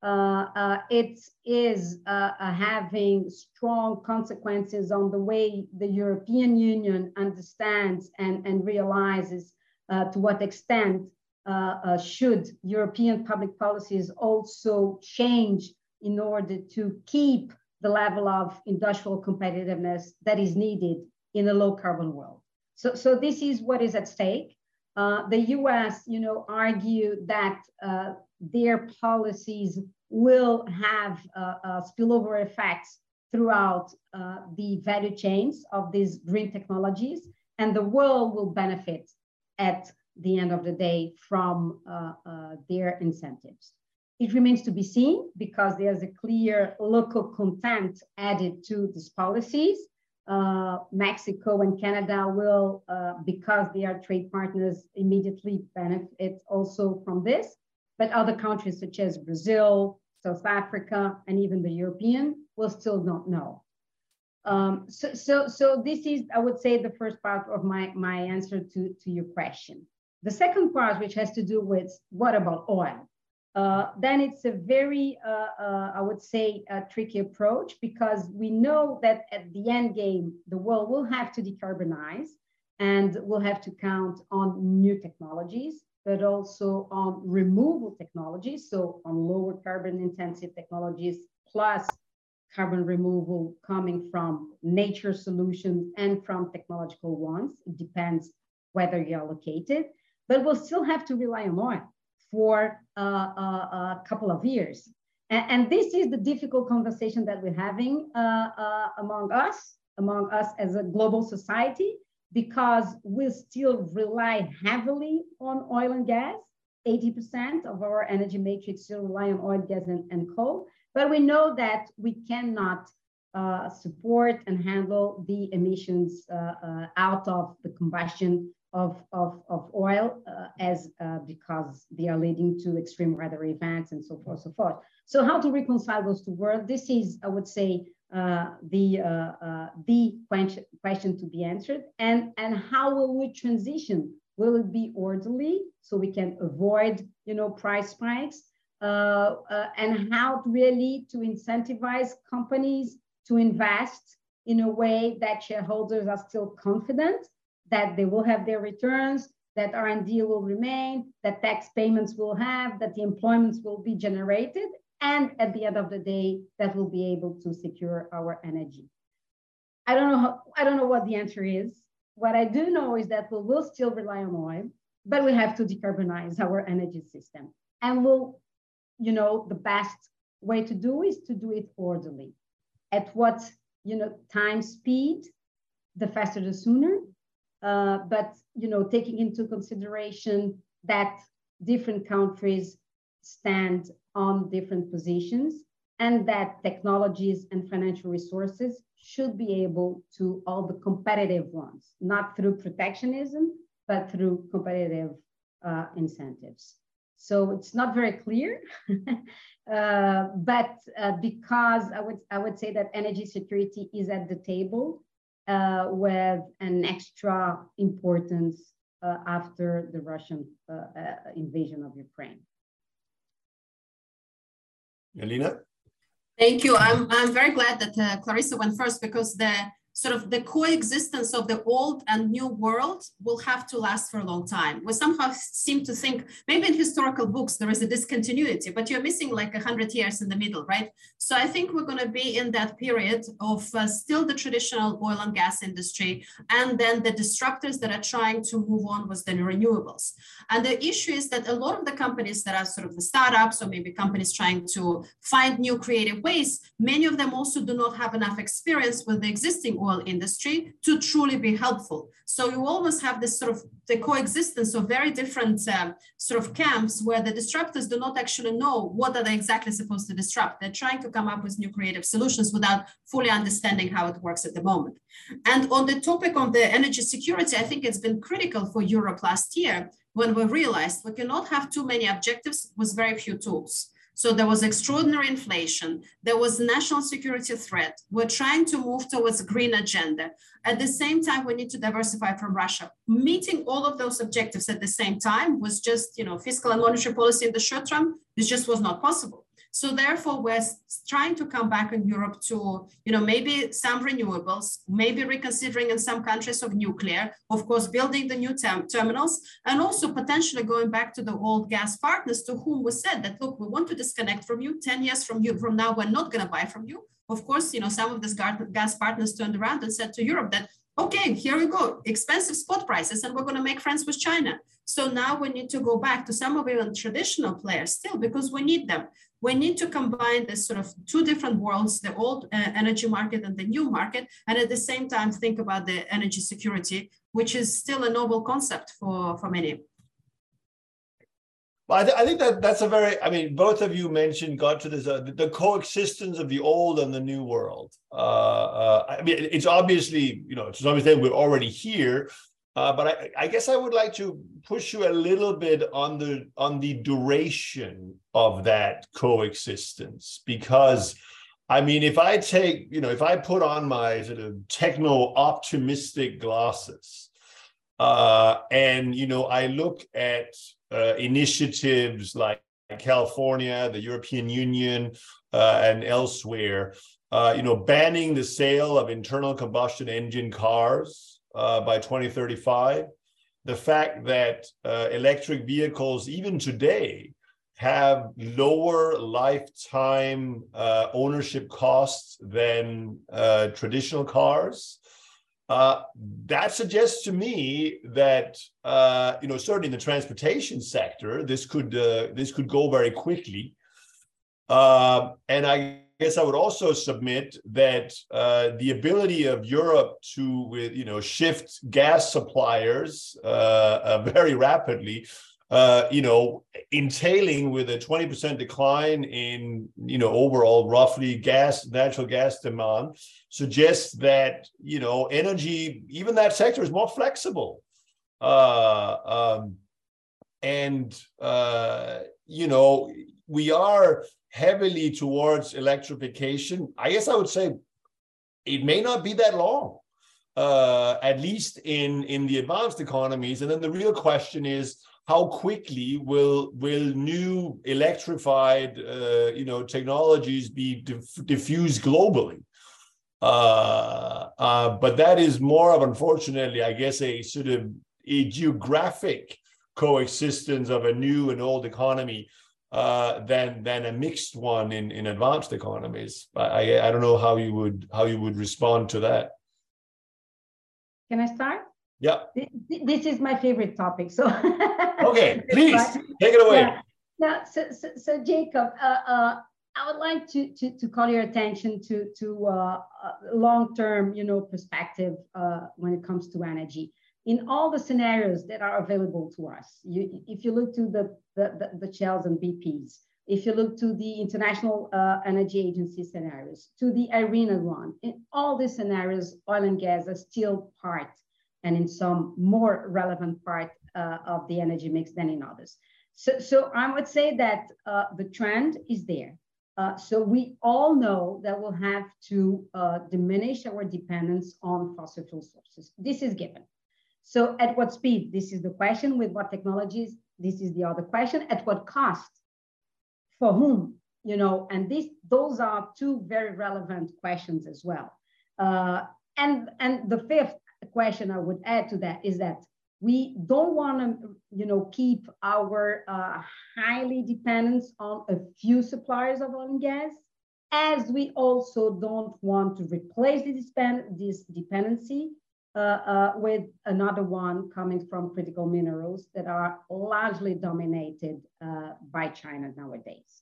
Speaker 7: it is having strong consequences on the way the European Union understands and realizes to what extent should European public policies also change in order to keep the level of industrial competitiveness that is needed in a low carbon world. So this is what is at stake. The US, argue that their policies will have spillover effects throughout the value chains of these green technologies, and the world will benefit at the end of the day from their incentives. It remains to be seen because there's a clear local content added to these policies. Mexico and Canada will, because they are trade partners, immediately benefit also from this. But other countries such as Brazil, South Africa, and even the European will still not know. So this is, I would say, the first part of my answer to your question. The second part, which has to do with what about oil? Then it's a very, I would say, a tricky approach, because we know that at the end game, the world will have to decarbonize and will have to count on new technologies, but also on removal technologies, so on lower carbon intensive technologies, plus carbon removal coming from nature solutions and from technological ones. It depends whether you're located, but we'll still have to rely on oil for a couple of years. And this is the difficult conversation that we're having among us as a global society, because we still rely heavily on oil and gas. 80% of our energy matrix still rely on oil, gas, and coal. But we know that we cannot support and handle the emissions out of the combustion of oil because they are leading to extreme weather events and so forth, so forth. So how to reconcile those two worlds? This is, I would say, the question to be answered. And how will we transition? Will it be orderly so we can avoid, price spikes? And how really to incentivize companies to invest in a way that shareholders are still confident that they will have their returns, that R&D will remain, that tax payments will have, that the employments will be generated, and at the end of the day, that we'll be able to secure our energy. I don't know what the answer is. What I do know is that we will still rely on oil, but we have to decarbonize our energy system. And the best way to do is to do it orderly. At what, time speed, the faster the sooner. But taking into consideration that different countries stand on different positions, and that technologies and financial resources should be able to, all the competitive ones, not through protectionism, but through competitive incentives. So it's not very clear, but because I would say that energy security is at the table, with an extra importance after the Russian invasion of Ukraine.
Speaker 5: Alina?
Speaker 6: Thank you. I'm very glad that Clarissa went first, because the coexistence of the old and new world will have to last for a long time. We somehow seem to think, maybe in historical books, there is a discontinuity, but you're missing like 100 years in the middle, right? So I think we're going to be in that period of still the traditional oil and gas industry, and then the disruptors that are trying to move on with the renewables. And the issue is that a lot of the companies that are sort of the startups, or maybe companies trying to find new creative ways, many of them also do not have enough experience with the existing oil industry to truly be helpful. So you almost have this sort of the coexistence of very different sort of camps, where the disruptors do not actually know what are they exactly supposed to disrupt. They're trying to come up with new creative solutions without fully understanding how it works at the moment. And on the topic of the energy security, I think it's been critical for Europe last year, when we realized we cannot have too many objectives with very few tools. So there was extraordinary inflation. There was national security threat. We're trying to move towards a green agenda. At the same time, we need to diversify from Russia. Meeting all of those objectives at the same time was just, fiscal and monetary policy in the short term, this just was not possible. So therefore, we're trying to come back in Europe to, maybe some renewables, maybe reconsidering in some countries of nuclear, of course, building the new terminals, and also potentially going back to the old gas partners to whom we said that, look, we want to disconnect from you. 10 years from now, we're not going to buy from you. Of course, some of these gas partners turned around and said to Europe that, okay, here we go, expensive spot prices, and we're going to make friends with China. So now we need to go back to some of even traditional players still, because we need them. We need to combine this sort of two different worlds, the old energy market and the new market, and at the same time think about the energy security, which is still a noble concept for many.
Speaker 5: Well, I think that's a very, both of you got to this, the coexistence of the old and the new world. It's obviously, to some extent we're already here, but I guess I would like to push you a little bit on the duration of that coexistence, because if I take, if I put on my sort of techno-optimistic glasses, and I look at initiatives like California, the European Union, and elsewhere, banning the sale of internal combustion engine cars by 2035. The fact that electric vehicles, even today, have lower lifetime ownership costs than traditional cars. That suggests to me that certainly in the transportation sector, this could go very quickly, and I guess I would also submit that the ability of Europe to shift gas suppliers very rapidly, entailing with a 20% decline in overall roughly natural gas demand, suggests that energy, even that sector, is more flexible, we are heavily towards electrification. I guess I would say it may not be that long, at least in the advanced economies. And then the real question is, how quickly will new electrified technologies be diffused globally? But that is more of, unfortunately, I guess, a sort of a geographic coexistence of a new and old economy than a mixed one in advanced economies. I don't know how you would respond to that.
Speaker 7: Can I start?
Speaker 5: Yeah.
Speaker 7: This is my favorite topic. So
Speaker 5: okay, please take it away.
Speaker 7: Yeah. Now, so Jacob, I would like to call your attention to long-term, perspective when it comes to energy. In all the scenarios that are available to us, if you look to the Shells and BPs, if you look to the International Energy Agency scenarios, to the IRENA one, in all these scenarios, oil and gas are still part, and in some more relevant part of the energy mix than in others. So I would say that the trend is there. So we all know that we'll have to diminish our dependence on fossil fuel sources. This is given. So at what speed? This is the question. With what technologies? This is the other question. At what cost? For whom? And those are two very relevant questions as well. And the fifth question I would add to that is that we don't want to, keep our highly dependence on a few suppliers of oil and gas, as we also don't want to replace this dependency with another one coming from critical minerals that are largely dominated by China nowadays.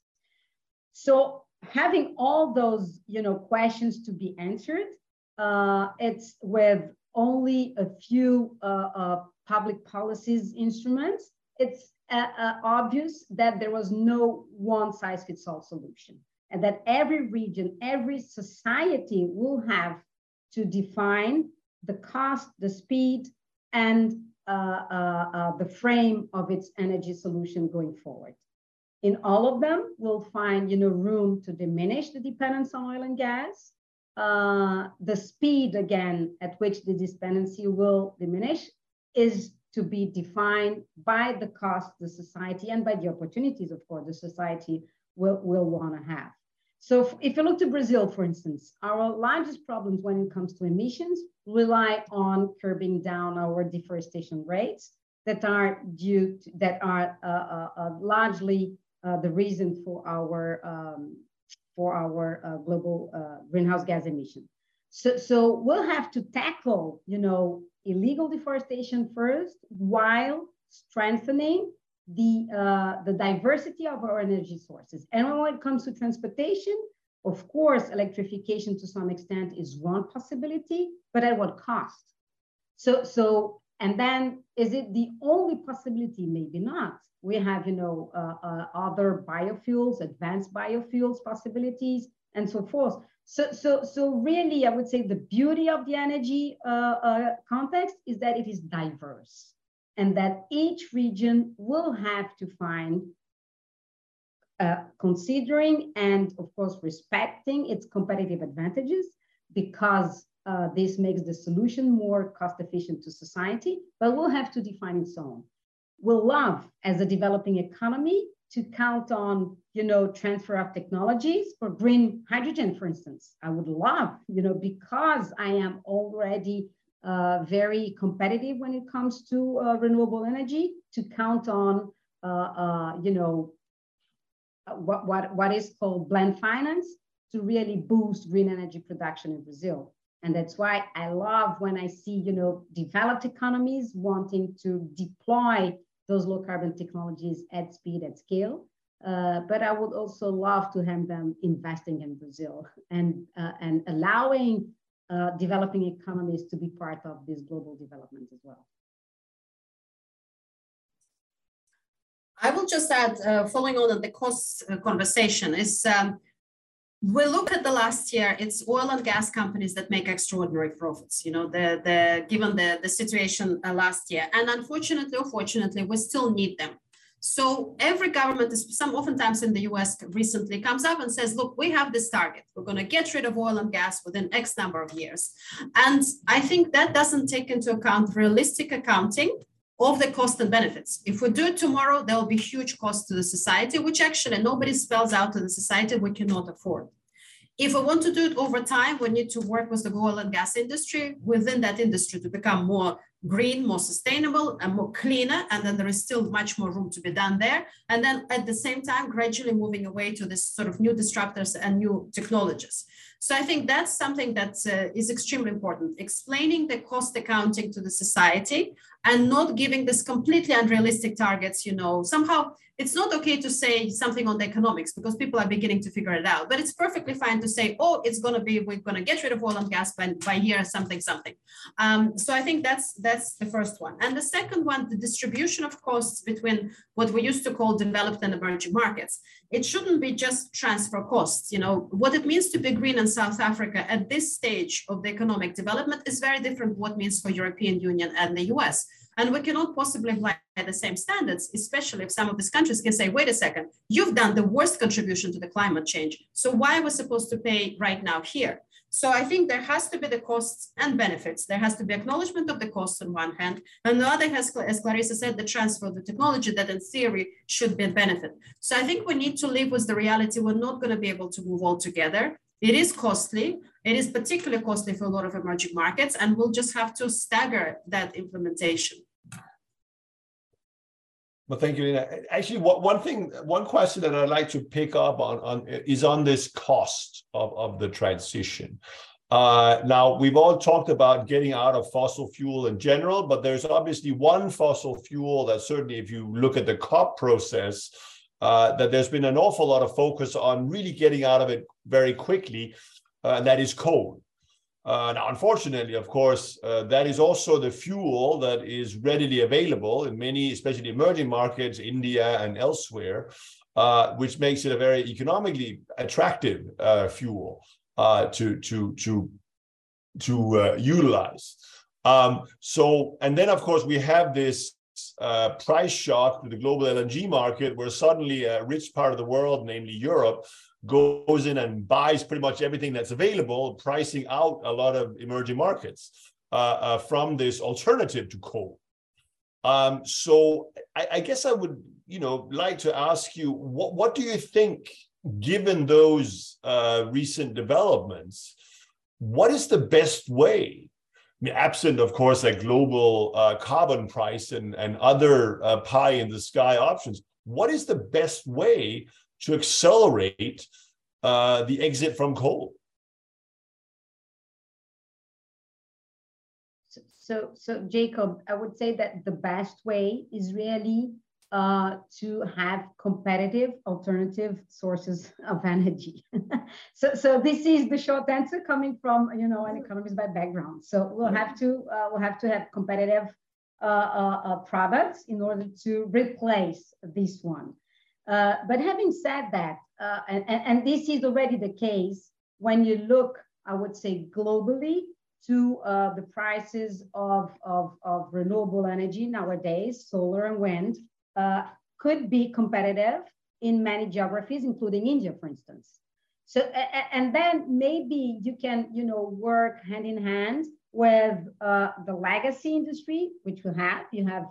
Speaker 7: So having all those, questions to be answered, it's with only a few public policies instruments, it's obvious that there was no one-size-fits-all solution, and that every region, every society will have to define the cost, the speed, and the frame of its energy solution going forward. In all of them, we'll find room to diminish the dependence on oil and gas. The speed, again, at which the dependency will diminish is to be defined by the cost, the society, and by the opportunities, of course, the society will want to have. So if you look to Brazil, for instance, our largest problems when it comes to emissions rely on curbing down our deforestation rates that are largely the reason for our global greenhouse gas emission. So we'll have to tackle, illegal deforestation first, while strengthening the diversity of our energy sources. And when it comes to transportation, of course, electrification to some extent is one possibility, but at what cost? And then is it the only possibility? Maybe not. We have, other biofuels, advanced biofuels possibilities, and so forth. So really, I would say the beauty of the energy context is that it is diverse, and that each region will have to find, considering and of course respecting its competitive advantages, because this makes the solution more cost efficient to society, but we'll have to define its own. We'll love, as a developing economy, to count on, transfer of technologies for green hydrogen, for instance. I would love, because I am already very competitive when it comes to renewable energy, to count on, what is called blend finance to really boost green energy production in Brazil. And that's why I love when I see, developed economies wanting to deploy those low carbon technologies at speed, at scale. But I would also love to have them investing in Brazil and allowing developing economies to be part of this global development as well.
Speaker 6: I will just add, following on the cost conversation, is we look at the last year, it's oil and gas companies that make extraordinary profits, given the situation last year. And unfortunately or fortunately, we still need them. So every government, oftentimes in the US recently, comes up and says, look, we have this target. We're going to get rid of oil and gas within X number of years. And I think that doesn't take into account realistic accounting of the cost and benefits. If we do it tomorrow, there will be huge costs to the society, which actually nobody spells out to the society we cannot afford. If we want to do it over time, we need to work with the oil and gas industry, within that industry, to become more green, more sustainable, and more cleaner. And then there is still much more room to be done there. And then at the same time, gradually moving away to this sort of new disruptors and new technologies. So I think that's something that is extremely important, explaining the cost accounting to the society and not giving this completely unrealistic targets. Somehow it's not okay to say something on the economics because people are beginning to figure it out, but it's perfectly fine to say, oh, we're going to get rid of oil and gas by year something. So I think that's the first one. And the second one, the distribution of costs between what we used to call developed and emerging markets. It shouldn't be just transfer costs. What it means to be green in South Africa at this stage of the economic development is very different what it means for European Union and the US. And we cannot possibly apply the same standards, especially if some of these countries can say, wait a second, you've done the worst contribution to the climate change. So why are we supposed to pay right now here? So I think there has to be the costs and benefits. There has to be acknowledgement of the costs on one hand, and the other has, as Clarissa said, the transfer of the technology that in theory should be a benefit. So I think we need to live with the reality we're not going to be able to move all together. It is costly. It is particularly costly for a lot of emerging markets, and we'll just have to stagger that implementation.
Speaker 5: Well, thank you, Lina. Actually, one question that I'd like to pick up on is on this cost of the transition. Now, we've all talked about getting out of fossil fuel in general, but there's obviously one fossil fuel that certainly, if you look at the COP process, that there's been an awful lot of focus on really getting out of it very quickly, and that is coal. Now, unfortunately, of course, that is also the fuel that is readily available in many, especially emerging markets, India and elsewhere, which makes it a very economically attractive fuel to utilize. And then, of course, we have this price shock to the global LNG market, where suddenly a rich part of the world, namely Europe, goes in and buys pretty much everything that's available, pricing out a lot of emerging markets from this alternative to coal. So I guess I would like to ask you, what do you think, given those recent developments, what is the best way? I mean, absent, of course, a global carbon price and other pie in the sky options, what is the best way to accelerate the exit from coal?
Speaker 7: So Jacob, I would say that the best way is really to have competitive alternative sources of energy. so this is the short answer coming from an economist by background. So we'll have to have competitive products in order to replace this one. But having said that, and this is already the case when you look, I would say, globally to the prices of renewable energy nowadays, solar and wind, could be competitive in many geographies, including India, for instance. So, and then maybe you can, work hand in hand with the legacy industry, which you have,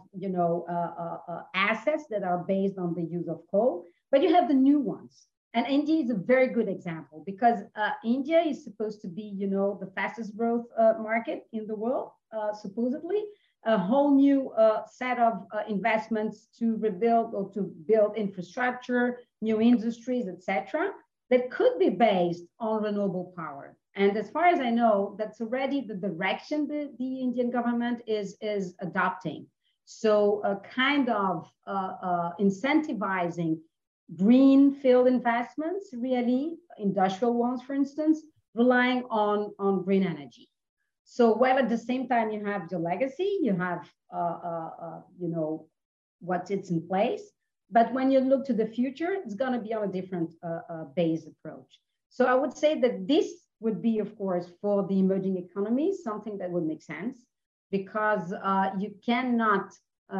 Speaker 7: assets that are based on the use of coal, but you have the new ones. And India is a very good example because India is supposed to be, the fastest growth market in the world, supposedly. A whole new set of investments to rebuild or to build infrastructure, new industries, etc., that could be based on renewable power. And as far as I know, that's already the direction that the Indian government is adopting. So a kind of incentivizing green field investments, really, industrial ones, for instance, relying on green energy. So while at the same time you have the legacy, you have, what it's in place. But when you look to the future, it's going to be on a different base approach. So I would say that this would be, of course, for the emerging economies, something that would make sense because you cannot,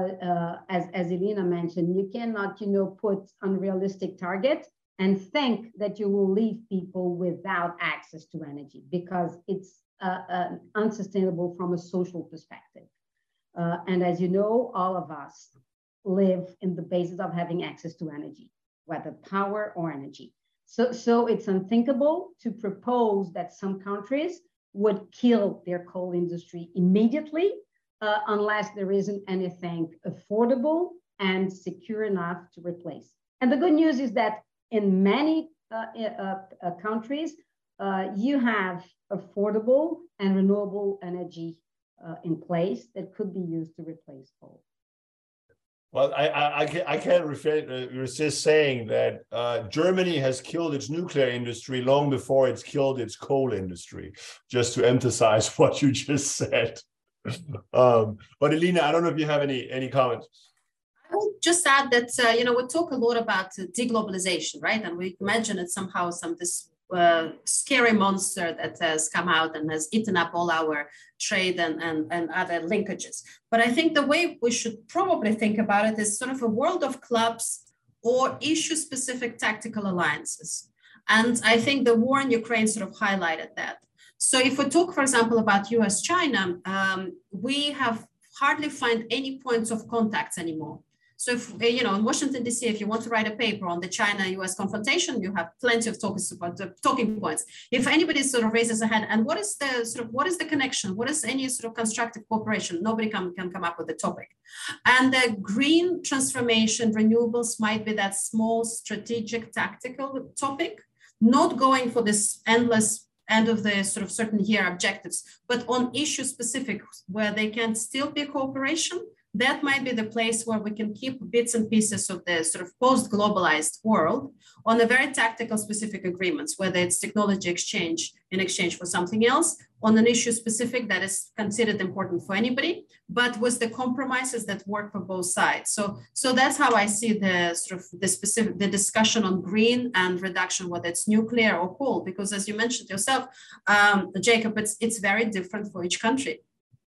Speaker 7: as Elena mentioned, you cannot, put unrealistic targets and think that you will leave people without access to energy because it's unsustainable from a social perspective. And as you know, all of us live in the basis of having access to energy, whether power or energy. So it's unthinkable to propose that some countries would kill their coal industry immediately unless there isn't anything affordable and secure enough to replace. And the good news is that in many countries, you have affordable and renewable energy in place that could be used to replace coal.
Speaker 5: Well, I can't resist saying that Germany has killed its nuclear industry long before it's killed its coal industry, just to emphasize what you just said. But Elena, I don't know if you have any comments.
Speaker 6: I will just add that, we talk a lot about deglobalization, right? And we imagine it's somehow this scary monster that has come out and has eaten up all our trade and other linkages. But I think the way we should probably think about it is sort of a world of clubs or issue-specific tactical alliances. And I think the war in Ukraine sort of highlighted that. So if we talk, for example, about US-China, we have hardly find any points of contacts anymore. So if, in Washington, D.C., if you want to write a paper on the China-US confrontation, you have plenty of talking points. If anybody sort of raises a hand, and what is the connection? What is any sort of constructive cooperation? Nobody can come up with a topic. And the green transformation, renewables might be that small strategic tactical topic, not going for this endless end of the sort of certain year objectives, but on issue specific where they can still be cooperation. That might be the place where we can keep bits and pieces of the sort of post-globalized world on a very tactical specific agreements, whether it's technology exchange in exchange for something else, on an issue specific that is considered important for anybody, but with the compromises that work for both sides. So that's how I see the sort of the discussion on green and reduction, whether it's nuclear or coal, because as you mentioned yourself, Jacob, it's very different for each country.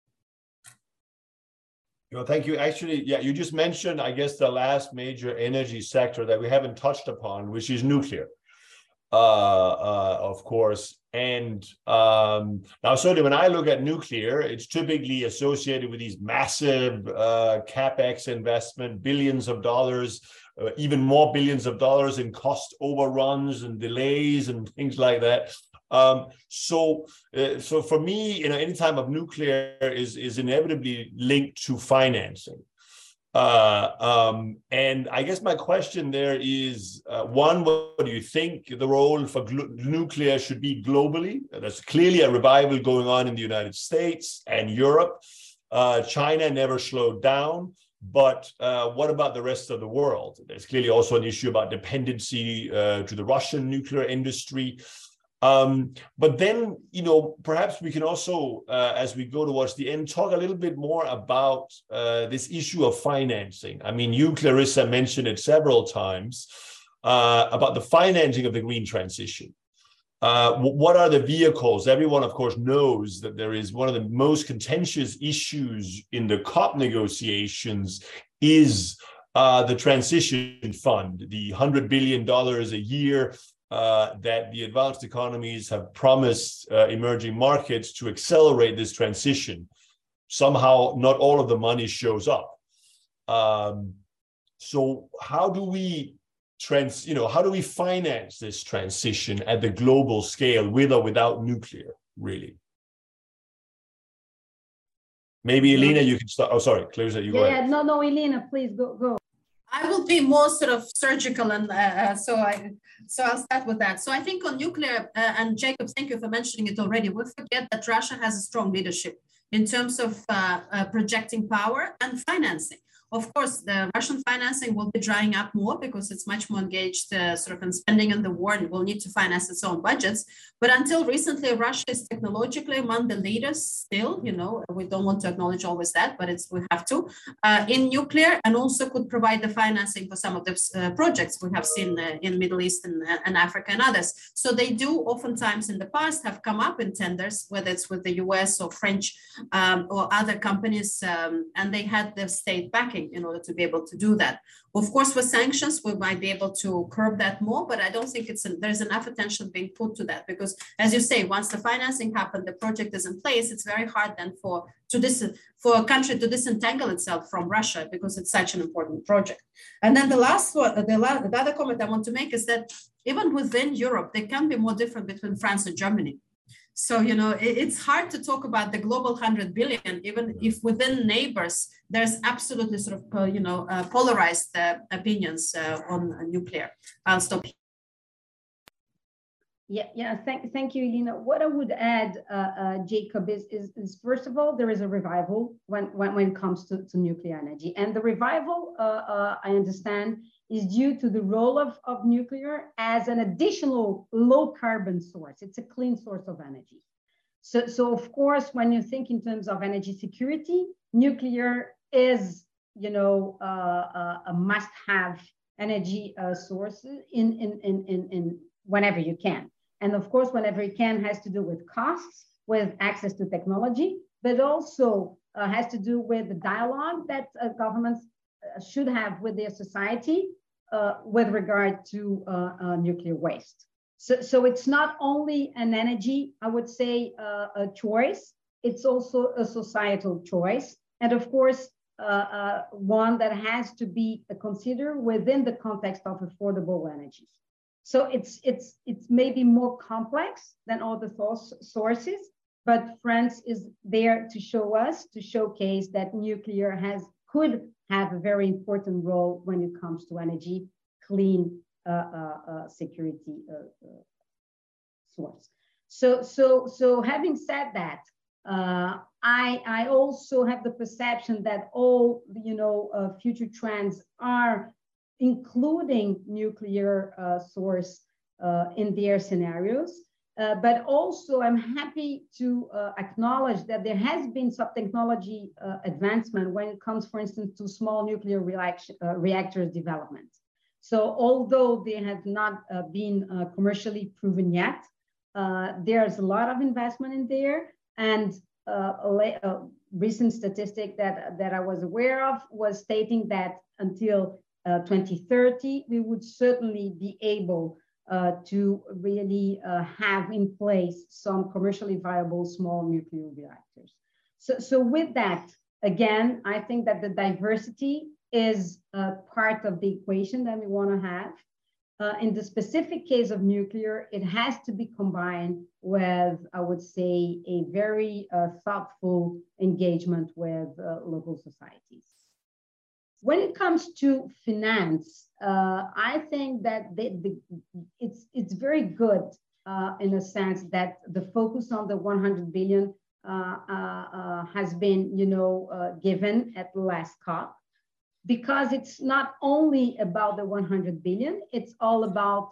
Speaker 5: Well, thank you. Actually, yeah, you just mentioned, I guess, the last major energy sector that we haven't touched upon, which is nuclear. of course. And now, certainly when I look at nuclear, it's typically associated with these massive CapEx investment, billions of dollars, even more billions of dollars in cost overruns and delays and things like that. So for me, any time of nuclear is inevitably linked to financing. And I guess my question there is, one, what do you think the role for nuclear should be globally? There's clearly a revival going on in the United States and Europe. China never slowed down. But what about the rest of the world? There's clearly also an issue about dependency to the Russian nuclear industry. But then, perhaps we can also, as we go towards the end, talk a little bit more about this issue of financing. I mean, you, Clarissa, mentioned it several times about the financing of the green transition. What are the vehicles? Everyone, of course, knows that there is one of the most contentious issues in the COP negotiations is the transition fund, the $100 billion a year that the advanced economies have promised emerging markets to accelerate this transition. Somehow, not all of the money shows up. So how do we how do we finance this transition at the global scale, with or without nuclear, really? Maybe Elena, you can start. Oh, sorry, Clarissa, you go ahead.
Speaker 7: No, Elena, please go.
Speaker 6: I will be more sort of surgical, and so I'll start with that. So I think on nuclear, and Jacob, thank you for mentioning it already. We forget that Russia has a strong leadership in terms of projecting power and financing. Of course, the Russian financing will be drying up more because it's much more engaged sort of in spending on the war and will need to finance its own budgets. But until recently, Russia is technologically among the leaders still, we don't want to acknowledge always that, but we have to, in nuclear, and also could provide the financing for some of the projects we have seen in Middle East and Africa and others. So they do oftentimes in the past have come up in tenders, whether it's with the US or French or other companies, and they had the state backing in order to be able to do that. Of course, with sanctions, we might be able to curb that more, but I don't think there's enough attention being put to that, because as you say, once the financing happened, the project is in place, it's very hard then for a country to disentangle itself from Russia, because it's such an important project. And then the last one, the other comment I want to make is that even within Europe, there can be more different between France and Germany. So, it's hard to talk about the global 100 billion, even if within neighbors, there's absolutely sort of, polarized opinions on nuclear. I'll stop here.
Speaker 7: Yeah. Thank you, Elena. What I would add, Jacob, is first of all, there is a revival when it comes to nuclear energy. And the revival, I understand, is due to the role of nuclear as an additional low carbon source. It's a clean source of energy. So of course, when you think in terms of energy security, nuclear is, a must-have energy source in whenever you can. And of course, whenever it can, has to do with costs, with access to technology, but also has to do with the dialogue that governments should have with their society with regard to nuclear waste. So it's not only an energy, I would say, a choice, it's also a societal choice. And of course, one that has to be considered within the context of affordable energies. So it's maybe more complex than all the sources, but France is there to showcase that nuclear could have a very important role when it comes to energy, clean security source. So having said that, I also have the perception that all future trends are including nuclear source in their scenarios. But also I'm happy to acknowledge that there has been some technology advancement when it comes, for instance, to small nuclear reactors development. So although they have not been commercially proven yet, there's a lot of investment in there. And a recent statistic that I was aware of was stating that until 2030, we would certainly be able to really have in place some commercially viable small nuclear reactors. So with that, again, I think that the diversity is part of the equation that we want to have. In the specific case of nuclear, it has to be combined with, I would say, a very thoughtful engagement with local societies. When it comes to finance, I think that it's very good in a sense that the focus on the 100 billion has been, given at the last COP, because it's not only about the 100 billion, it's all about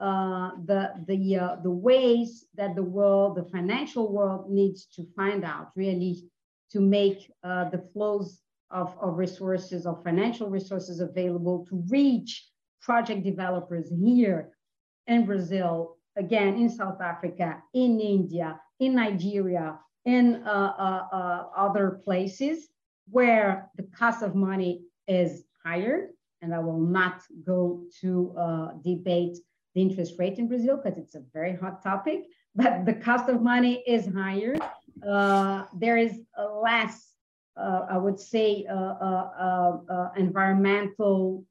Speaker 7: the ways that the financial world needs to find out, really, to make the flows of resources, of financial resources available to reach project developers here in Brazil, again, in South Africa, in India, in Nigeria, in other places where the cost of money is higher. And I will not go to debate the interest rate in Brazil because it's a very hot topic, but the cost of money is higher. There is less, I would say, environmental,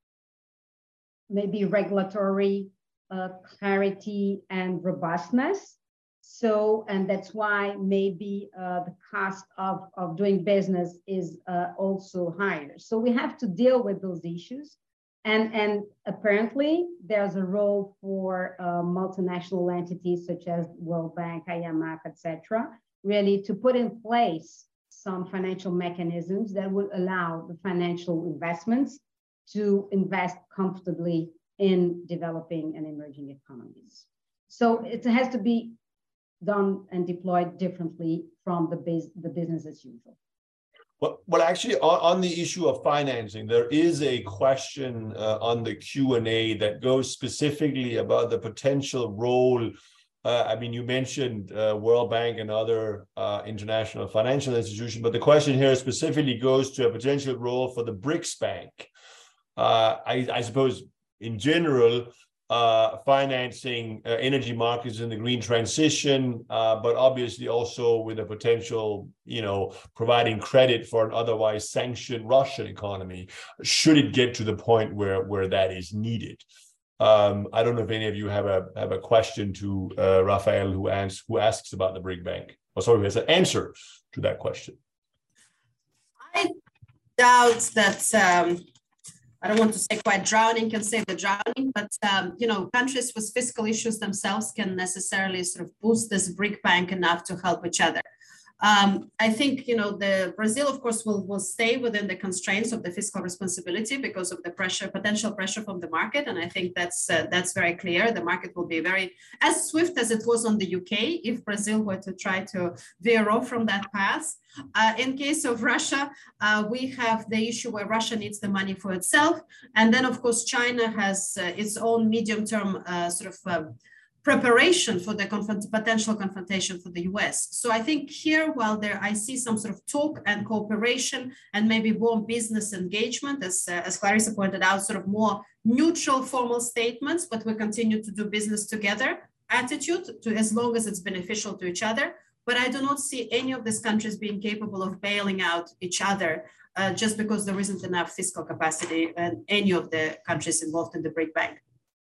Speaker 7: maybe regulatory clarity and robustness. So, and that's why maybe the cost of doing business is also higher. So we have to deal with those issues. And apparently there's a role for multinational entities such as World Bank, IMF, etc., really to put in place some financial mechanisms that would allow the financial investments to invest comfortably in developing and emerging economies. So it has to be done and deployed differently from the business as usual.
Speaker 5: Well, actually, on the issue of financing, there is a question on the Q&A that goes specifically about the potential role. I mean, you mentioned World Bank and other international financial institutions, but the question here specifically goes to a potential role for the BRICS Bank. I suppose, in general, financing energy markets in the green transition, but obviously also with a potential, providing credit for an otherwise sanctioned Russian economy, should it get to the point where that is needed. I don't know if any of you have a question to Rafael, who asks about the BRIC Bank. Oh, sorry, who has an answer to that question.
Speaker 6: I doubt that. I don't want to say quite drowning can save the drowning, but countries with fiscal issues themselves can necessarily sort of boost this BRIC Bank enough to help each other. I think, the Brazil, of course, will stay within the constraints of the fiscal responsibility because of the potential pressure from the market. And I think that's very clear. The market will be as swift as it was on the UK if Brazil were to try to veer off from that path. In case of Russia, we have the issue where Russia needs the money for itself. And then, of course, China has its own medium-term preparation for the potential confrontation for the US. So I think here, while I see some sort of talk and cooperation and maybe more business engagement, as Clarissa pointed out, sort of more neutral formal statements, but we continue to do business together attitude as long as it's beneficial to each other. But I do not see any of these countries being capable of bailing out each other just because there isn't enough fiscal capacity in any of the countries involved in the BRIC Bank.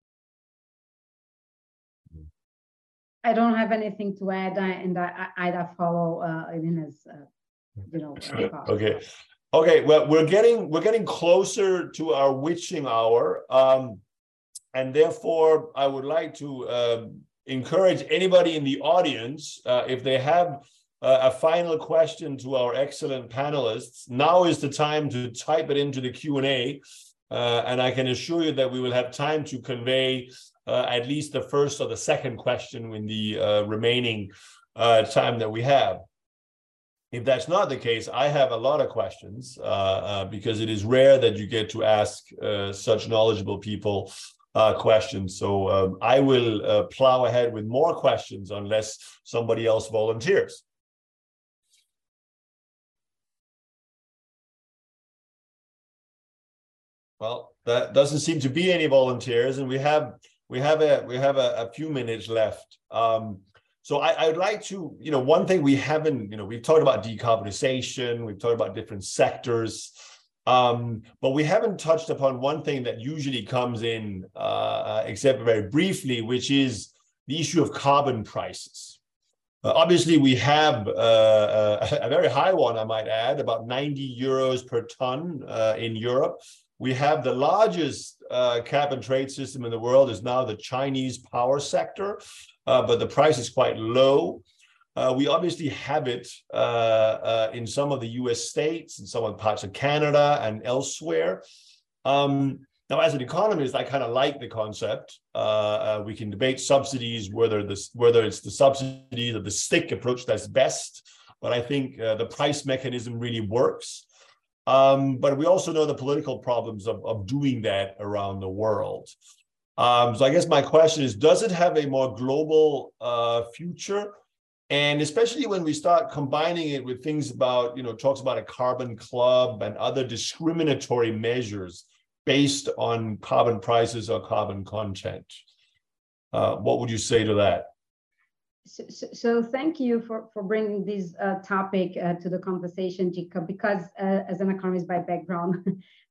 Speaker 7: I don't have anything to add, and I follow Irina's,
Speaker 5: Okay. Well, we're getting closer to our witching hour, and therefore I would like to encourage anybody in the audience, if they have a final question to our excellent panelists, now is the time to type it into the Q&A, and I can assure you that we will have time to convey at least the first or the second question in the remaining time that we have. If that's not the case, I have a lot of questions because it is rare that you get to ask such knowledgeable people questions. So I will plow ahead with more questions unless somebody else volunteers. Well, that doesn't seem to be any volunteers, and we have we have a few minutes left. So I would like to, one thing we haven't, we've talked about decarbonization, we've talked about different sectors, but we haven't touched upon one thing that usually comes in, except very briefly, which is the issue of carbon prices. Obviously, we have a very high one, I might add, about 90 euros per ton in Europe. We have the largest cap and trade system in the world is now the Chinese power sector, but the price is quite low. We obviously have it in some of the US states, in some of the parts of Canada and elsewhere. Now, as an economist, I kind of like the concept. We can debate subsidies, whether it's the subsidies or the stick approach that's best, but I think the price mechanism really works. But we also know the political problems of doing that around the world. So I guess my question is, does it have a more global future? And especially when we start combining it with things about, talks about a carbon club and other discriminatory measures based on carbon prices or carbon content. What would you say to that?
Speaker 7: So thank you for bringing this topic to the conversation, Jacob, because as an economist by background,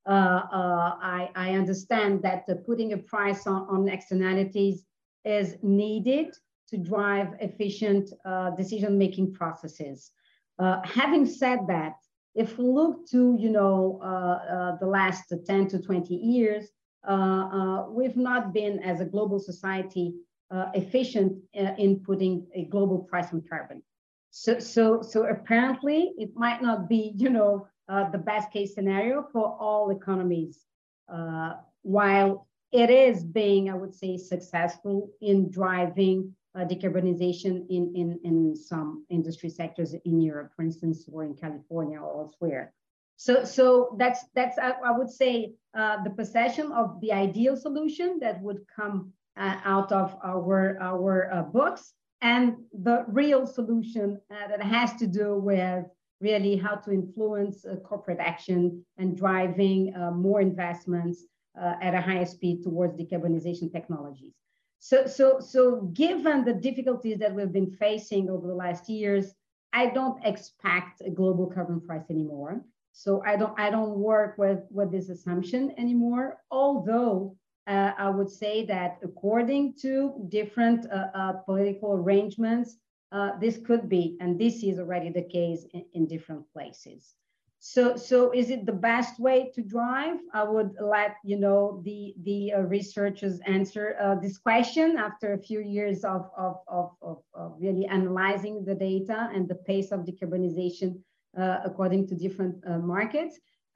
Speaker 7: I understand that putting a price on externalities is needed to drive efficient decision-making processes. Having said that, if we look to the last 10 to 20 years, we've not been, as a global society, efficient in putting a global price on carbon. So apparently, it might not be the best case scenario for all economies, while it is being, I would say, successful in driving decarbonization in some industry sectors in Europe, for instance, or in California or elsewhere. So that's I would say the possession of the ideal solution that would come out of our books, and the real solution that has to do with really how to influence corporate action and driving more investments at a higher speed towards decarbonization technologies. So given the difficulties that we've been facing over the last years, I don't expect a global carbon price anymore. So I don't work with this assumption anymore, although I would say that according to different political arrangements, this could be, and this is already the case in different places. So is it the best way to drive? I would let the researchers answer this question after a few years of really analyzing the data and the pace of decarbonization according to different markets.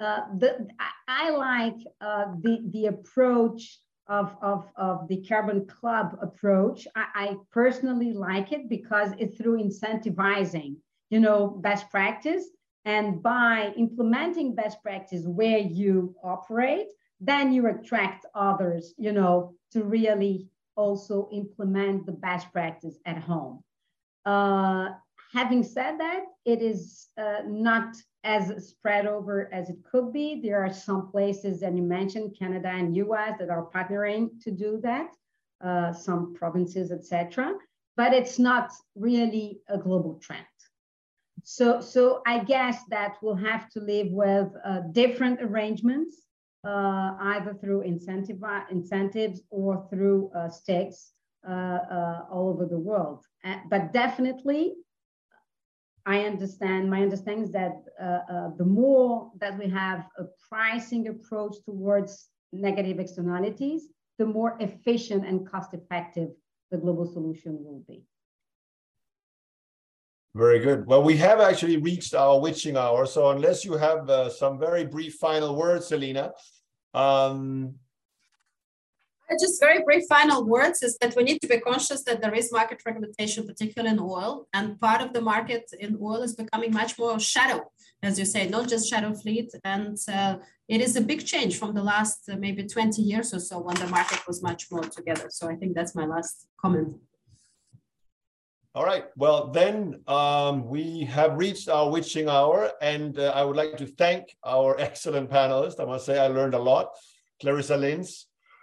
Speaker 7: I like the approach of the carbon club approach. I personally like it because it's through incentivizing, best practice. And by implementing best practice where you operate, then you attract others, to really also implement the best practice at home. Having said that, it is not as spread over as it could be. There are some places, and you mentioned Canada and US, that are partnering to do that, some provinces, etc. But it's not really a global trend. So I guess that we'll have to live with different arrangements, either through incentives or through stakes all over the world. But definitely, my understanding is that the more that we have a pricing approach towards negative externalities, the more efficient and cost-effective the global solution will be.
Speaker 5: Very good. Well, we have actually reached our witching hour. So unless you have some very brief final words, Selina.
Speaker 6: Just very brief final words is that we need to be conscious that there is market fragmentation, particularly in oil. And part of the market in oil is becoming much more shadow, as you say, not just shadow fleet. And it is a big change from the last maybe 20 years or so when the market was much more together. So I think that's my last comment.
Speaker 5: All right. Well, then we have reached our witching hour, and I would like to thank our excellent panelists. I must say I learned a lot. Clarissa Lins,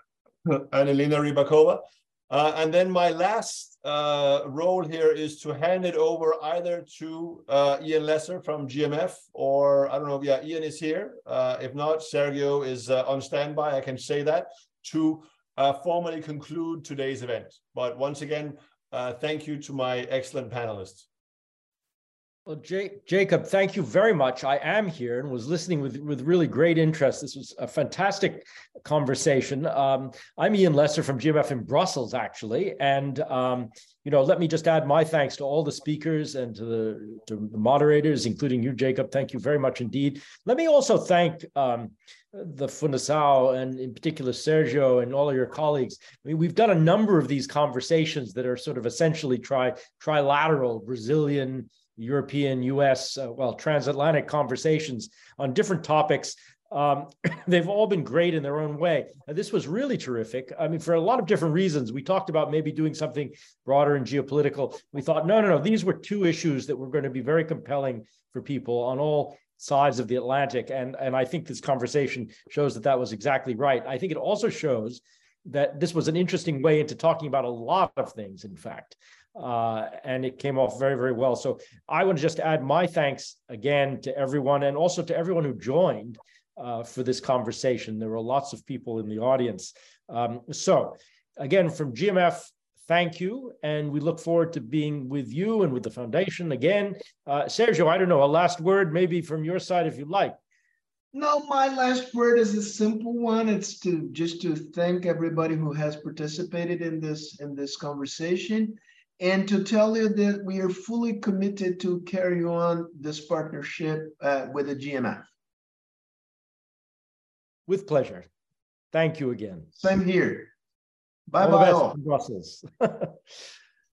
Speaker 5: and Elena Rybakova. And then my last role here is to hand it over either to Ian Lesser from GMF, or I don't know, yeah, Ian is here. If not, Sergio is on standby, I can say that, to formally conclude today's event. But once again, thank you to my excellent panelists.
Speaker 8: Well, Jacob, thank you very much. I am here and was listening with really great interest. This was a fantastic conversation. I'm Ian Lesser from GMF in Brussels, actually. And, let me just add my thanks to all the speakers and to the moderators, including you, Jacob. Thank you very much indeed. Let me also thank the Fundação, and in particular Sergio and all of your colleagues. I mean, we've done a number of these conversations that are sort of essentially trilateral, Brazilian, European, US, transatlantic conversations on different topics. They've all been great in their own way. And this was really terrific. I mean, for a lot of different reasons. We talked about maybe doing something broader and geopolitical. We thought, no, these were two issues that were going to be very compelling for people on all sides of the Atlantic. And I think this conversation shows that was exactly right. I think it also shows that this was an interesting way into talking about a lot of things, in fact. And it came off very, very well. So I want to just add my thanks again to everyone, and also to everyone who joined for this conversation. There were lots of people in the audience. So again, from GMF, thank you. And we look forward to being with you and with the foundation again. Sergio, I don't know, a last word maybe from your side, if you'd like.
Speaker 2: No, my last word is a simple one. It's just to thank everybody who has participated in this conversation, and to tell you that we are fully committed to carry on this partnership with the GMF.
Speaker 8: With pleasure. Thank you again.
Speaker 2: Same here. Bye-bye all.
Speaker 8: Brussels.